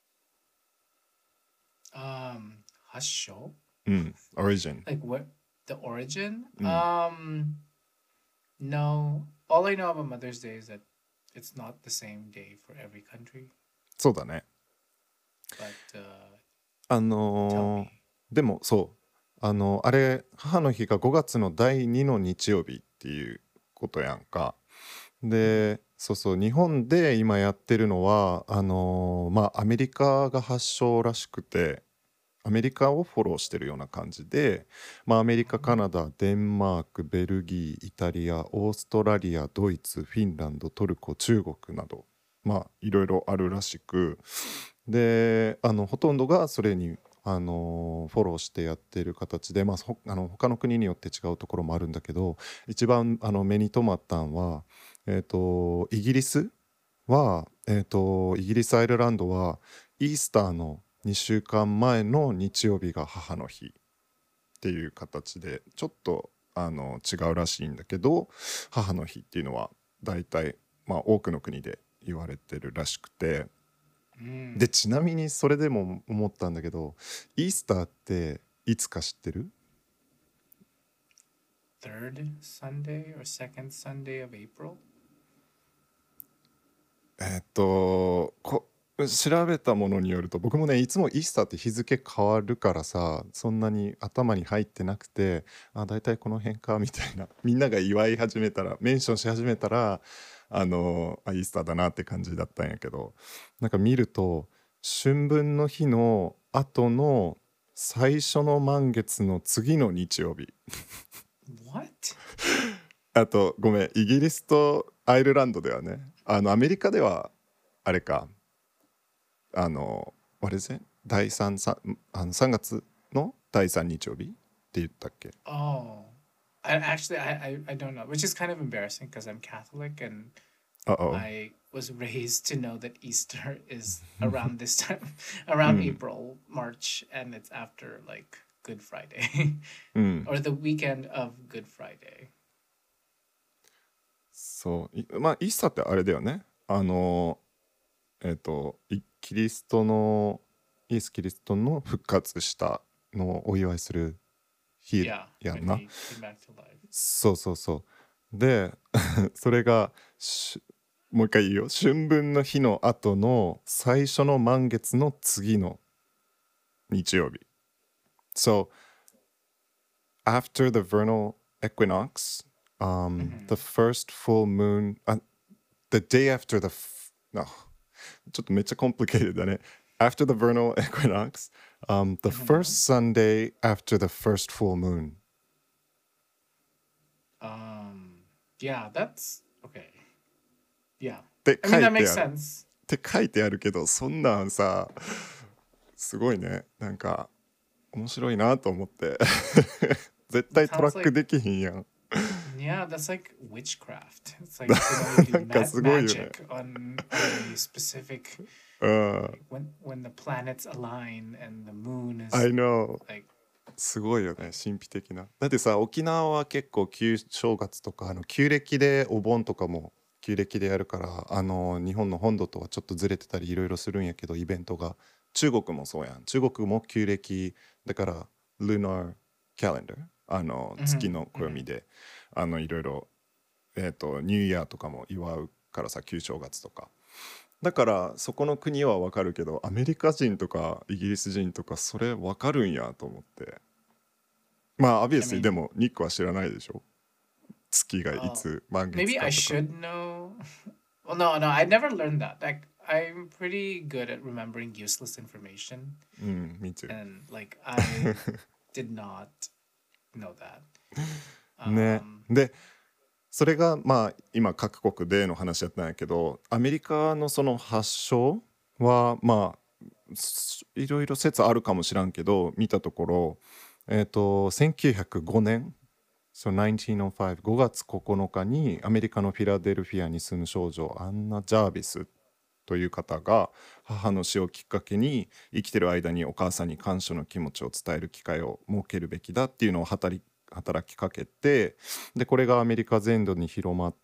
Um, 発祥? うん、origin。 Like what? The origin? うん。 Um, no. All I know about Mother's Day is that it's not the same day for every country. そうだね。 But uh, あ tell のー me. でもそうあのあれ母の日がごがつのだいにの日曜日っていうことやんか。で、そうそう日本で今やってるのはあのーまあアメリカが発祥らしくて、アメリカをフォローしてるような感じで、まあ、アメリカ、カナダ、デンマーク、ベルギー、イタリア、オーストラリア、ドイツ、フィンランド、トルコ、中国など、まあいろいろあるらしく、であのほとんどがそれにあのフォローしてやってる形で、まあ、ほあの他の国によって違うところもあるんだけど、一番あの目に留まったんは、えー、とイギリスは、えー、とイギリスアイルランドはイースターのにしゅうかんまえの日曜日が母の日っていう形でちょっとあの違うらしいんだけど、母の日っていうのは大体、まあ、多くの国で言われてるらしくて、 Mm. でちなみにそれでも思ったんだけど、イースターっていつか知ってる？ Third Sunday or second Sunday of April? えっとこ調べたものによると、僕もねいつもイースターって日付変わるからさ、そんなに頭に入ってなくて、あ大体この辺かみたいな、みんなが祝い始めたらメンションし始めたらあのあイースターだなって感じだったんやけど、なんか見ると春分の日の後の最初の満月の次の日曜日 What? あとごめん、イギリスとアイルランドではね、あのアメリカではあれか、あのあれですね、第3さあのさんがつのだいさん日曜日って言ったっけ？ Oh, I actually I, I I don't know, which is kind of embarrassing because I'm Catholic and Uh-oh. I was raised to know that Easter is around this time, around うん April, March, and it's after like Good Friday うん or the weekend of Good Friday. そういまあイースターってあれだよね、あのえっ、とイキリストのイエス・キリストの復活したのをお祝いする日 Yeah, やん when な。 he came back to life. そうそうそう。でそれがしもう一回言うよ、春分の日の後の最初の満月の次の日曜日。 So after the vernal equinox, um, the first full moon, uh, the day after the f- no ちょっとめっちゃ complicated だね。 After the vernal equinox, um, the first Sunday after the first full moon. Um, yeah, that's okay. Yeah, って I 書 mean い that て makes ある。っ sense. て書いてあるけど、そんなんさすごいね、なんか面白いなと思って絶対トラ Sounds ック like できひんやん。 yeah, that's like witchcraft. It's like you know you な do んか ma- すごいよね。 magic on, on a specific うん when when the planets align and the moon I is know。 like すごいよね、神秘的な。だってさ、沖縄は結構旧正月とかあの旧暦でお盆とかも旧暦でやるから、あの日本の本土とはちょっとずれてたりいろいろするんやけど、イベントが。中国もそうやん。中国も旧暦だから Lunar Calendar、 あの月の暦で、あのいろいろえっとニューイヤーとかも祝うからさ、旧正月とかだからそこの国はわかるけどアメリカ人とかイギリス人とかそれわかるんやと思って。まあ I obviously で mean, もニックは知らないでしょ、月がい oh, つ満月 maybe か I とか。 should know. Well, no, no, I never learned that. Like, I'm pretty good at remembering useless information, うん、me too。 and like, I did not know that. ね Um, でそれがまあ今各国での話やったんやけど、アメリカのその発祥はまあすいろいろ説あるかもしらんけど、見たところえっ、とせんきゅうひゃくごねん、そう せんきゅうひゃくご、ごがつここのかにアメリカのフィラデルフィアに住む少女アンナ・ジャービスという方が母の死をきっかけに生きてる間にお母さんに感謝の気持ちを伝える機会を設けるべきだっていうのを働き働きかけて、でこれがアメリカ全土に広まって、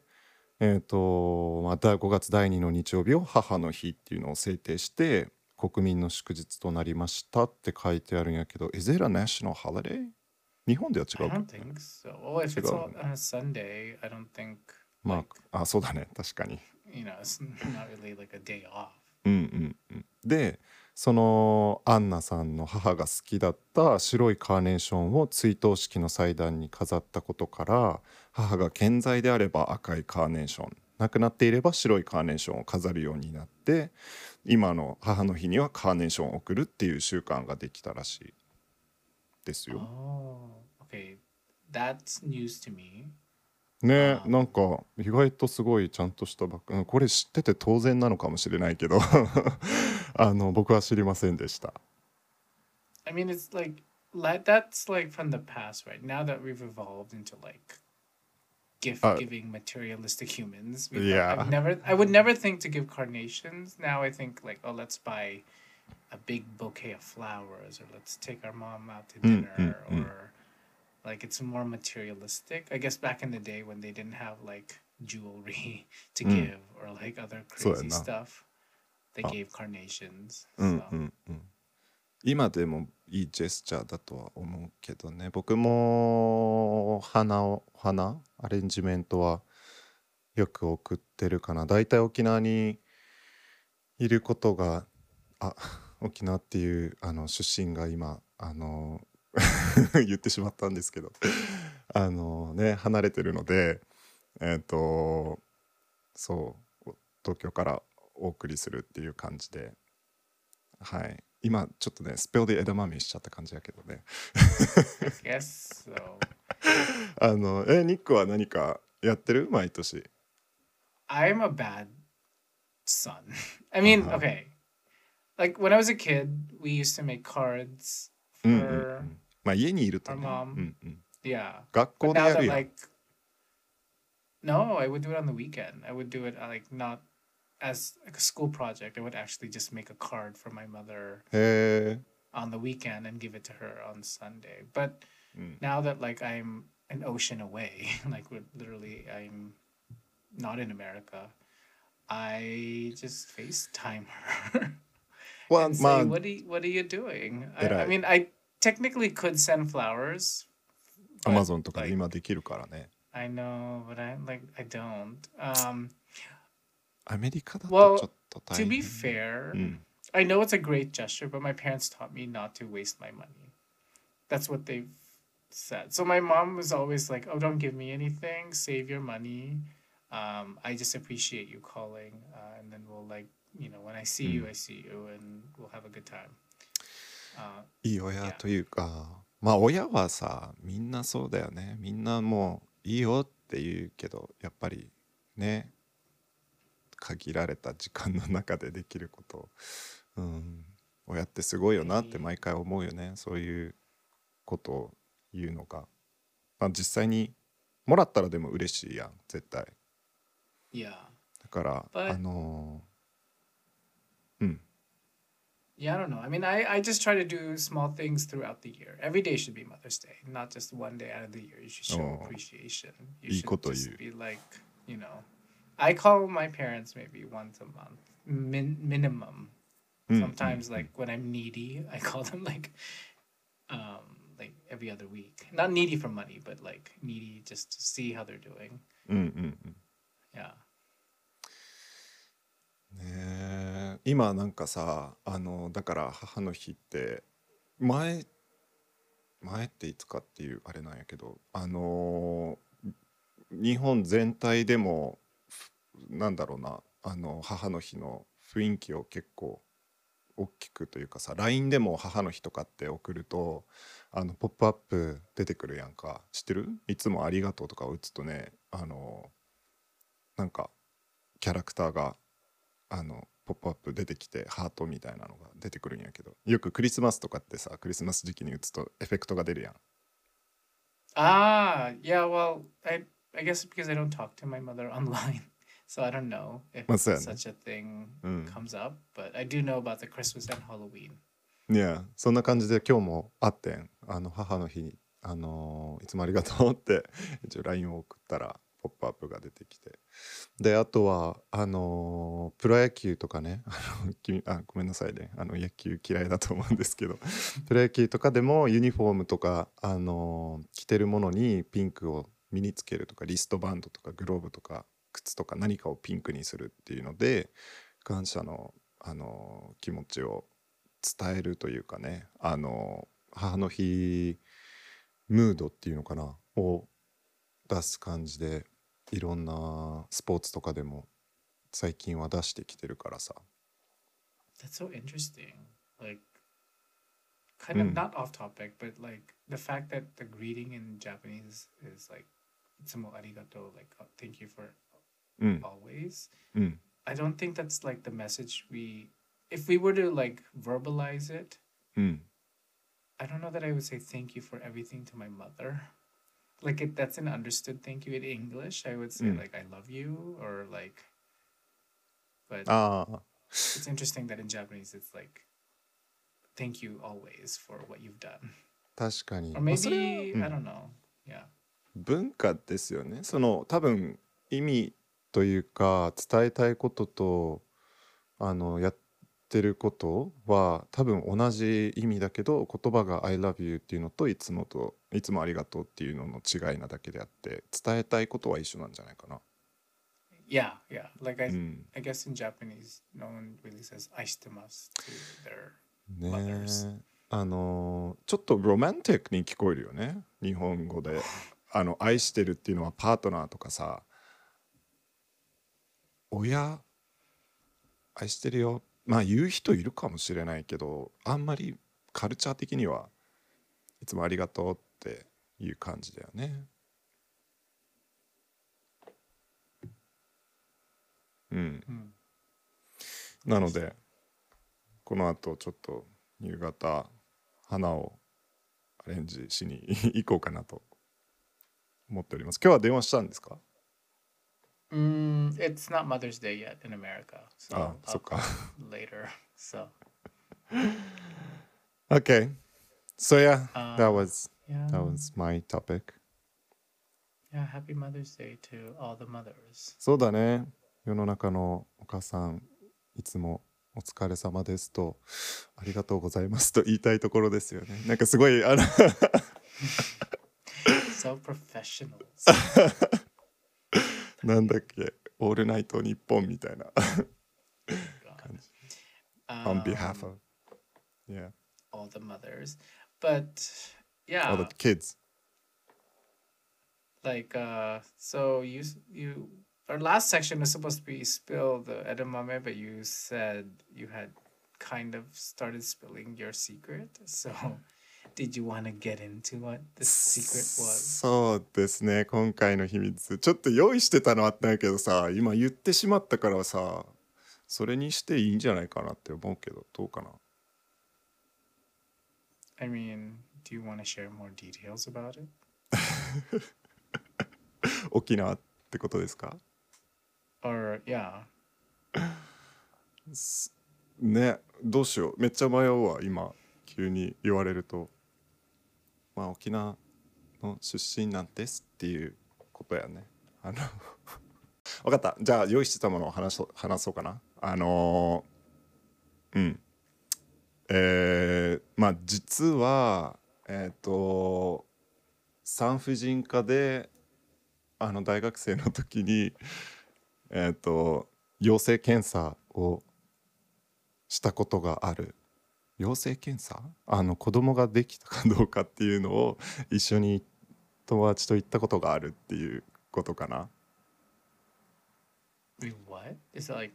えーとまあ、ごがつだいにの日曜日を母の日っていうのを制定して国民の祝日となりましたって書いてあるんやけど、 Is it a national holiday? 日本では違 I うけど don't ね。 think so. Well, if 違 it's う all よね。 on a Sunday, I don't think ま like ああそうだね、確かに。 you know it's not really like a day off. うんうんうん、でそのアンナさんの母が好きだった白いカーネーションを追悼式の祭壇に飾ったことから、母が健在であれば赤いカーネーション、亡くなっていれば白いカーネーションを飾るようになって、今の母の日にはカーネーションを贈るっていう習慣ができたらしいですよ。 Oh, okay. That's news to me. ね、 Um, なんか意外とすごいちゃんとしたバック、うんこれ知ってて当然なのかもしれないけどあの僕は知りませんでした。 I mean, it's like like that's like from the past, right? Now that we've evolved into like gift あ giving materialistic humans, we い thought I've や never I would never think to give carnations. Now I think like, oh, let's buy a big bouquet of flowers, or let's take our mom out to うんうん dinner, うん or like it's more materialistic. I guess back in the day when they didn't have like jewelry to うん give or like other そうや crazy な。 stuff, they あ gave carnations. うんう So んうん、今でもいいジェスチャーだとは思うけどね。僕も花を花アレンジメントはよく送ってるかな。だいたい沖縄にいることが、あ沖縄っていうあの出身が今あの言ってしまったんですけどあのね離れてるので、えっ、とそう東京からお送りするっていう感じで、はい今ちょっとねスペルで枝豆しちゃった感じやけどね。 I guess so. あのえニックは何かやってる毎年？ I'm a bad son. I あ mean, は okay. Like when I was a kid, we used to make cards うんうんう for ん、まあ家にいると our ね、う mom. んうん、 Yeah. 学 But 校で now や that るやん。 like no, I would do it on the weekend. I would do it uh, like not as like a school project. I would actually just make a card for my mother へえ、 on the weekend and give it to her on Sunday. But うん、 now that like I'm an ocean away, like we're literally I'm not in America, I just FaceTime her は and ま say, あ "What are you, what are you doing?" I, I 偉い。 mean, I technically could send flowers, アマ but ゾンとかで like 今できるからね。 I know, but I like I don't. Um, アメリカだとち well, ょっと to 大 be 変。 fair, うん、 I know it's a great gesture, but my parents taught me not to waste my money. That's what they've said. So my mom was always like, "Oh, don't give me anything. Save your money. Um, I just appreciate you calling, uh, and then we'll like, you know, when I see you, うん、 I see you, and we'll have a good time." Uh, いい親 yeah. というか、まあ親はさみんなそうだよね。みんなもういいよって言うけど、やっぱりね限られた時間の中でできることを、うん、親ってすごいよなって毎回思うよね。そういうことを言うのが、まあ、実際にもらったらでも嬉しいやん絶対。 Yeah. だから But あのー、うん yeah, I don't know. I mean, I, I just try to do small things throughout the year. Every day should be Mother's Day, not just one day out of the year. You should show Oh. appreciation. You いい should こと言 just う。 be like, you know, I call my parents maybe once a month, min- minimum. うん Sometimes うん like when I'm needy, I call them like um like every other week. Not needy for money, but like needy just to see how they're doing. うんうんうんうん Yeah. ね今なんかさ、あのだから母の日って前前っていつかっていうあれなんやけど、あの日本全体でもふなんだろうな、あの母の日の雰囲気を結構大きくというかさ、 ライン でも母の日とかって送ると、あのポップアップ出てくるやんか。知ってる？いつもありがとうとか打つとね、あのなんかキャラクターがあのポップアップ出てきてハートみたいなのが出てくるんやけど、よくクリスマスとかってさ、クリスマス時期に打つとエフェクトが出るやん。 Ah, yeah, well, I I guess because I don't talk to my mother online, so I don't know if まあそうやね。 such a thing うん。 comes up, but I do know about the Christmas and Halloween. いやそんな感じで今日もあってん、あの母の日に、あのーいつもありがとうって一応 ライン を送ったらポップアップが出てきて、であとはあのープロ野球とかね、あの君あごめんなさいね、あの野球嫌いだと思うんですけど、プロ野球とかでもユニフォームとか、あのー着てるものにピンクを身につけるとか、リストバンドとかグローブとか靴とか何かをピンクにするっていうので感謝の、あのー気持ちを伝えるというかね、あの母の日ムードっていうのかなを出す感じで、いろんなスポーツとかでも最近は出してきてるからさ。 That's so interesting. Like, う kind of ん not off topic, but like the fact that the greeting in Japanese is like "itsumo arigato," like uh, thank you for うん always. うん I don't think that's like the message we. If we were to like verbalize it, うん I don't know that I would say thank you for everything to my mother. Like it, that's an understood thank you in English. I would う say ん。 like I love you or like, but ああ it's interesting that in Japanese it's like thank you always for what you've done. 確かに、 Or まあ、それは、 maybe う I ん、 don't know. Yeah. 文化ですよね。その多分意味というか伝えたいこととあのやってることは多分同じ意味だけど、言葉が I love you っていうのといつもといつもありがとうっていうのの違いなだけであって、伝えたいことは一緒なんじゃないかな。 Yeah, yeah. Like う I ん I guess in Japanese no one really says aishitemasu to their ね mothers. え、あのちょっとロマンティックに聞こえるよね、日本語で。あの愛してるっていうのはパートナーとかさ、親愛してるよ、まあ言う人いるかもしれないけど、あんまりカルチャー的にはいつもありがとうっていう感じだよね。うん。 Hmm. なのでこの後ちょっと夕方花をアレンジしに行こうかなと思っております。今日は電話したんですか？ Mm, it's not Mother's Day yet in America, あ、 so そ I'll っか。 call later. So, Okay, so yeah, that uh, was yeah, that was my topic. yeah. Happy Mother's Day to all the mothers. そうだね、世の中のお母さんいつもお疲れ様ですとありがとうございますと言いたいところですよね。なんかすごいあの So professional. なんだっけ、オールナイトニッポンみたいな God. 感じ。On behalf Um, of, yeah, all the mothers, but all the yeah, kids. like uh, so you s- you our last section was supposed to be spill the edamame, but you said you had kind of started spilling your secret. So, did you want to get into what the secret was? そうですね、今回の秘密ちょっと用意してたのあったんやけどさ、今言ってしまったからさ、それにしていいんじゃないかなって思うけど、どうかな。 I mean, do you want to share more details about it? 沖縄ってことですか Or yeah, ね。どうしよう、めっちゃ迷うわ今急に言われると。まあ沖縄の出身なんですっていうことやね。あの分かった、じゃあ用意してたものを話そう話そうかな。あのー、うんえー、まあ実はえっ、ー、と産婦人科であの大学生の時にえっ、ー、と陽性検査をしたことがある。陽性検査、あの子供ができたかどうかっていうのを一緒に友達と行ったことがあるっていうことかな。 Wait, what? Is it like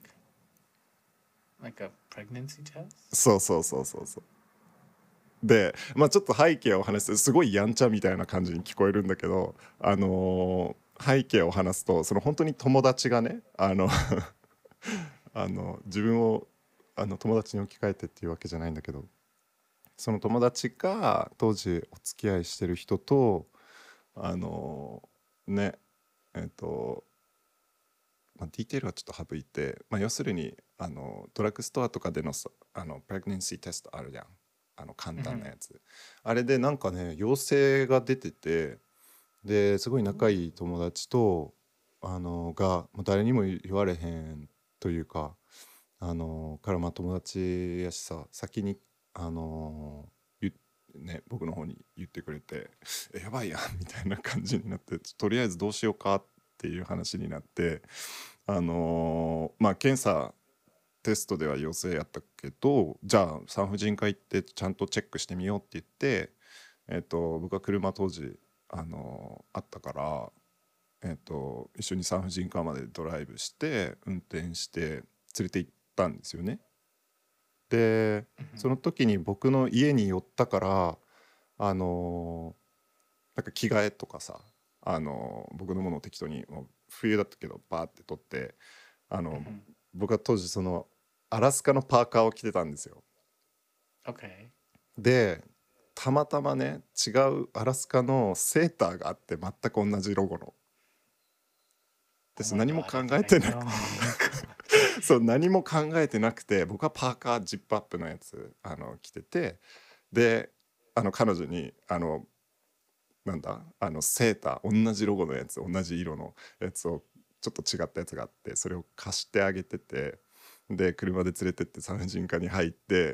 like a pregnancy test? そうそうそうそうそう。で、まあちょっと背景を話す、すごいやんちゃみたいな感じに聞こえるんだけど、あのー背景を話すと、その本当に友達がね、あのあの自分をあの友達に置き換えてっていうわけじゃないんだけど、その友達が当時お付き合いしてる人と、あのねえっと、まあ、ディテールはちょっと省いて、まあ、要するにあのドラッグストアとかでのさ、あのプレグネンシーテストあるじゃん、あの簡単なやつ、あれでなんかね陽性が出てて、ですごい仲いい友達とあのが、まあ、誰にも言われへんというか、あのからまあ友達やしさ、先にあの言ね、僕の方に言ってくれてえやばいやんみたいな感じになって、とりあえずどうしようかっていう話になって、あのまあ検査テストでは陽性やったけど、じゃあ産婦人科行ってちゃんとチェックしてみようって言って、えっと僕は車当時あのあったから、えっと一緒に産婦人科までドライブして運転して連れて行ったんですよね。でその時に僕の家に寄ったから、あのなんか着替えとかさ、あの僕のものを適当に、もう冬だったけどバーって取って、あの僕は当時そのアラスカのパーカーを着てたんですよ。 Okay. でたまたまね違うアラスカのセーターがあって、全く同じロゴので Oh す。 my 何も god, 考 I think え I てなく know. そう何も考えてなくて、僕はパーカージップアップのやつあの着てて、であの彼女にあのなんだあのセーター同じロゴのやつ、同じ色のやつをちょっと違ったやつがあって、それを貸してあげてて、で車で連れてって産婦人科に入って、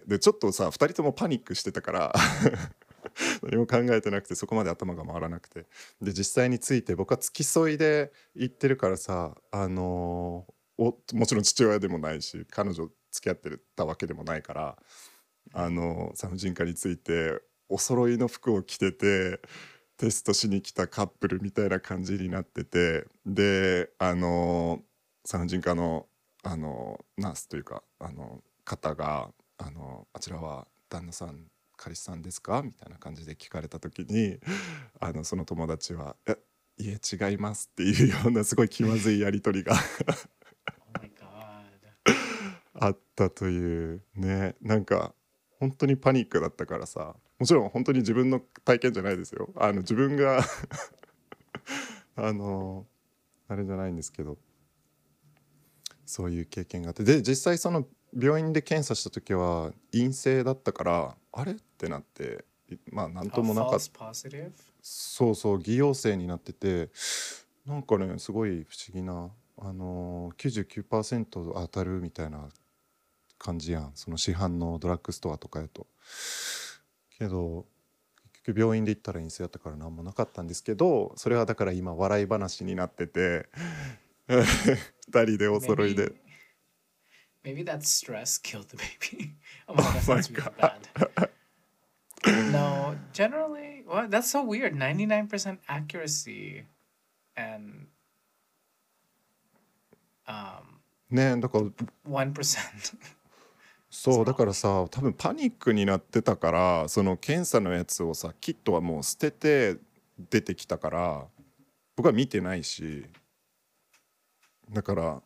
でちょっとさふたりともパニックしてたから何も考えてなくて、そこまで頭が回らなくて、で実際について僕は付き添いで行ってるからさ、あのーおもちろん父親でもないし彼女付き合ってたわけでもないから、あの産婦人科についてお揃いの服を着ててテストしに来たカップルみたいな感じになってて、であの産婦人科のあのナースというかあの方があのあちらは旦那さん彼氏さんですかみたいな感じで聞かれた時に、あのその友達は「えいえ違います」っていうようなすごい気まずいやり取りが Oh my god. あったというね。なんか本当にパニックだったからさ、もちろん本当に自分の体験じゃないですよ、あの自分があのあれじゃないんですけど、そういう経験があって、で実際その病院で検査した時は陰性だったから、あれってなって、いまあなんと A もなかった。 false positive? そうそう偽陽性になってて、なんかねすごい不思議な、あのー、きゅうじゅうきゅうパーセント当たるみたいな感じやん、その市販のドラッグストアとかやと。けど結局病院で行ったら陰性だったから何もなかったんですけど、それはだから今笑い話になっててふたりでお揃いで Maybe maybe that stress killed the baby. Oh my god, Oh that my sounds really god. bad. No, generally, well, that's so weird. ninety-nine percent accuracy and um ねえだから one percent. そうだからさ、多分パニックになってたから、その検査のやつをさキットはもう捨てて出てきたから、僕は見てないし、だから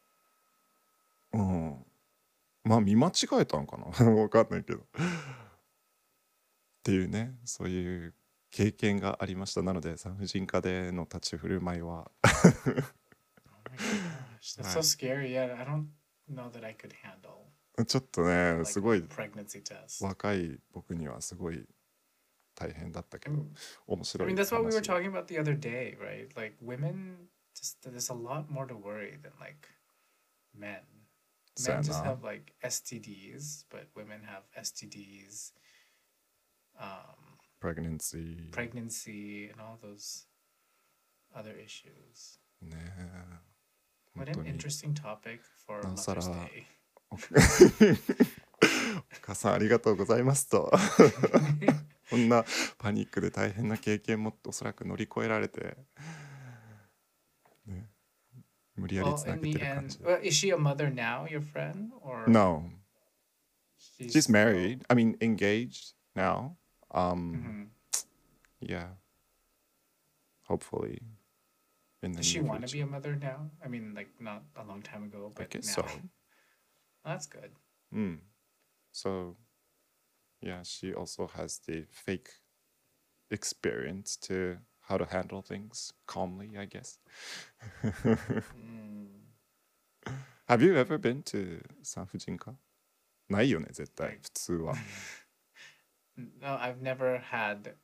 うんまあ見間違えたんかな分かんないけどっていうね、そういう経験がありました。なので産婦人科での立ち振る舞いは Oh my gosh, that's so Right. scary. Yeah, I don't know that I could handle ちょっとね like すご a い pregnancy test. 若い僕にはすごい大変だったけ I ど mean, 面 I 白 mean い that's what we were 話。 talking about the other day, right? Like women just there's a lot more to worry than like men. そうや Men just な have like S T Ds, but women have S T Ds, um, pregnancy pregnancy, and all those other issues. ねえ What 本当 an に interesting topic for なおさら Mother's Day. 母さんありがとうございますとこんなパニックで大変な経験もおそらく乗り越えられて、ね、無理やり Well, つな in げ the てる感 end, じ。 well, is she a mother now, your friend, or No, she's she's still- married. I mean engaged now. Um, Mhm. yeah. Hopefully in the Does she near want to be future. a mother now? I mean, like not a long time ago, I but guess now. so. That's good. Mm. So yeah, she also has the fake experience to how to handle things calmly, I guess. Mm, Have you ever been to 産婦人科？ないよね、絶対、 Like- 普通は。 no, I've never had.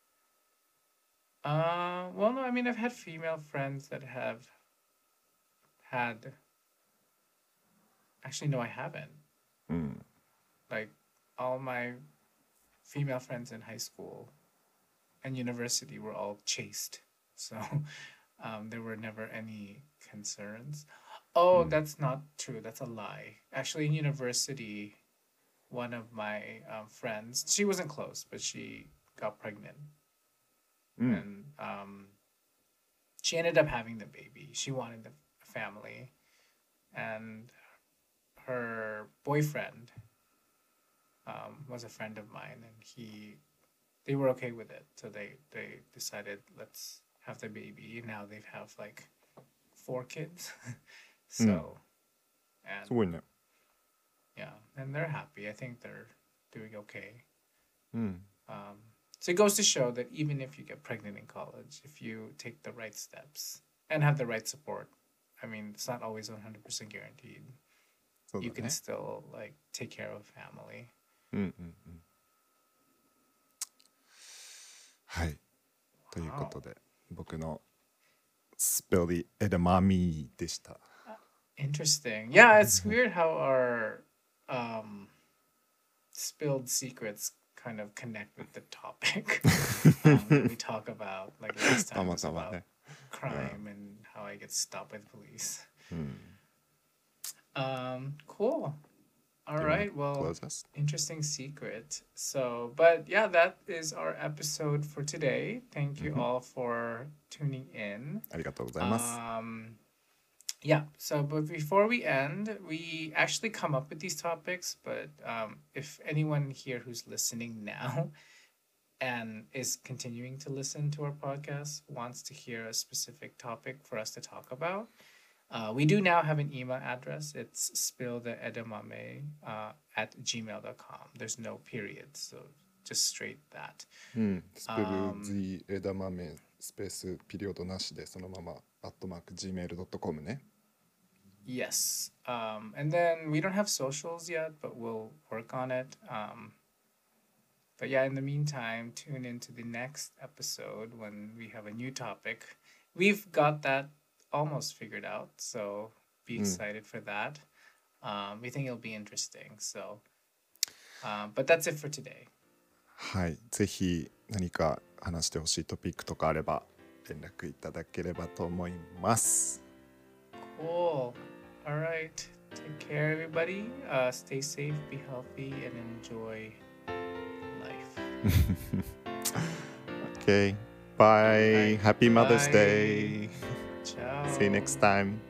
Uh, well, no, I mean, I've had female friends that have had. Actually, no, I haven't. うん。 Like, all my female friends in high school and university were all chaste. So, um, there were never any concerns. Oh, Mm. that's not true. That's a lie. Actually, in university, one of my um, friends, she wasn't close, but she got pregnant. うん。 And um, she ended up having the baby. She wanted the family, and her boyfriend um, was a friend of mine, and he they were okay with it. So they they decided let's have the baby. Now they have like four kids. So, and すごいね。 yeah, and they're happy. I think they're doing okay. うん。 Um, so it goes to show that even if you get pregnant in college, if you take the right steps and have the right support, I mean, it's not always one hundred percent guaranteed. そう You だ can ね。 still like take care of family. うんうんうん。はい。ということで、僕のスペリエダマミでした。 Interesting. Yeah, it's weird how our um, spilled secrets kind of connect with the topic um, that we talk about. Like last た time ま was たま about ね。 crime and how I get stopped by the police. うん。 Um, cool. All Do you wanna right. Well, close us? interesting secret. So, but yeah, that is our episode for today. Thank you Mhm. all for tuning in. ありがとうございます。 Um, yeah. So, but before we end, we actually come up with these topics. But um, if anyone here who's listening now and is continuing to listen to our podcast wants to hear a specific topic for us to talk about, uh, we do now have an email address. It's spilltheedamame uh, at gmail dot com. There's no periods, so just straight that. うん。スペル Um, Z 枝豆スペースピリオドなしでそのままアットマーク ジーメールドットコム ね。 Yes. Um, and then we don't have socials yet, but we'll work on it. Um, but yeah, in the meantime, tune into the next episode when we have a new topic. We've got that almost figured out, so be Mm. excited for that. Um, we think it'll be interesting. So, um, but that's it for today. はい。ぜひ何か話してほしいトピックとかあれば連絡いただければと思います。 Cool. All right. Take care, everybody. Uh, stay safe, be healthy, and enjoy life. Okay. Bye. Bye. Happy Mother's Bye. Day. Ciao. See you next time.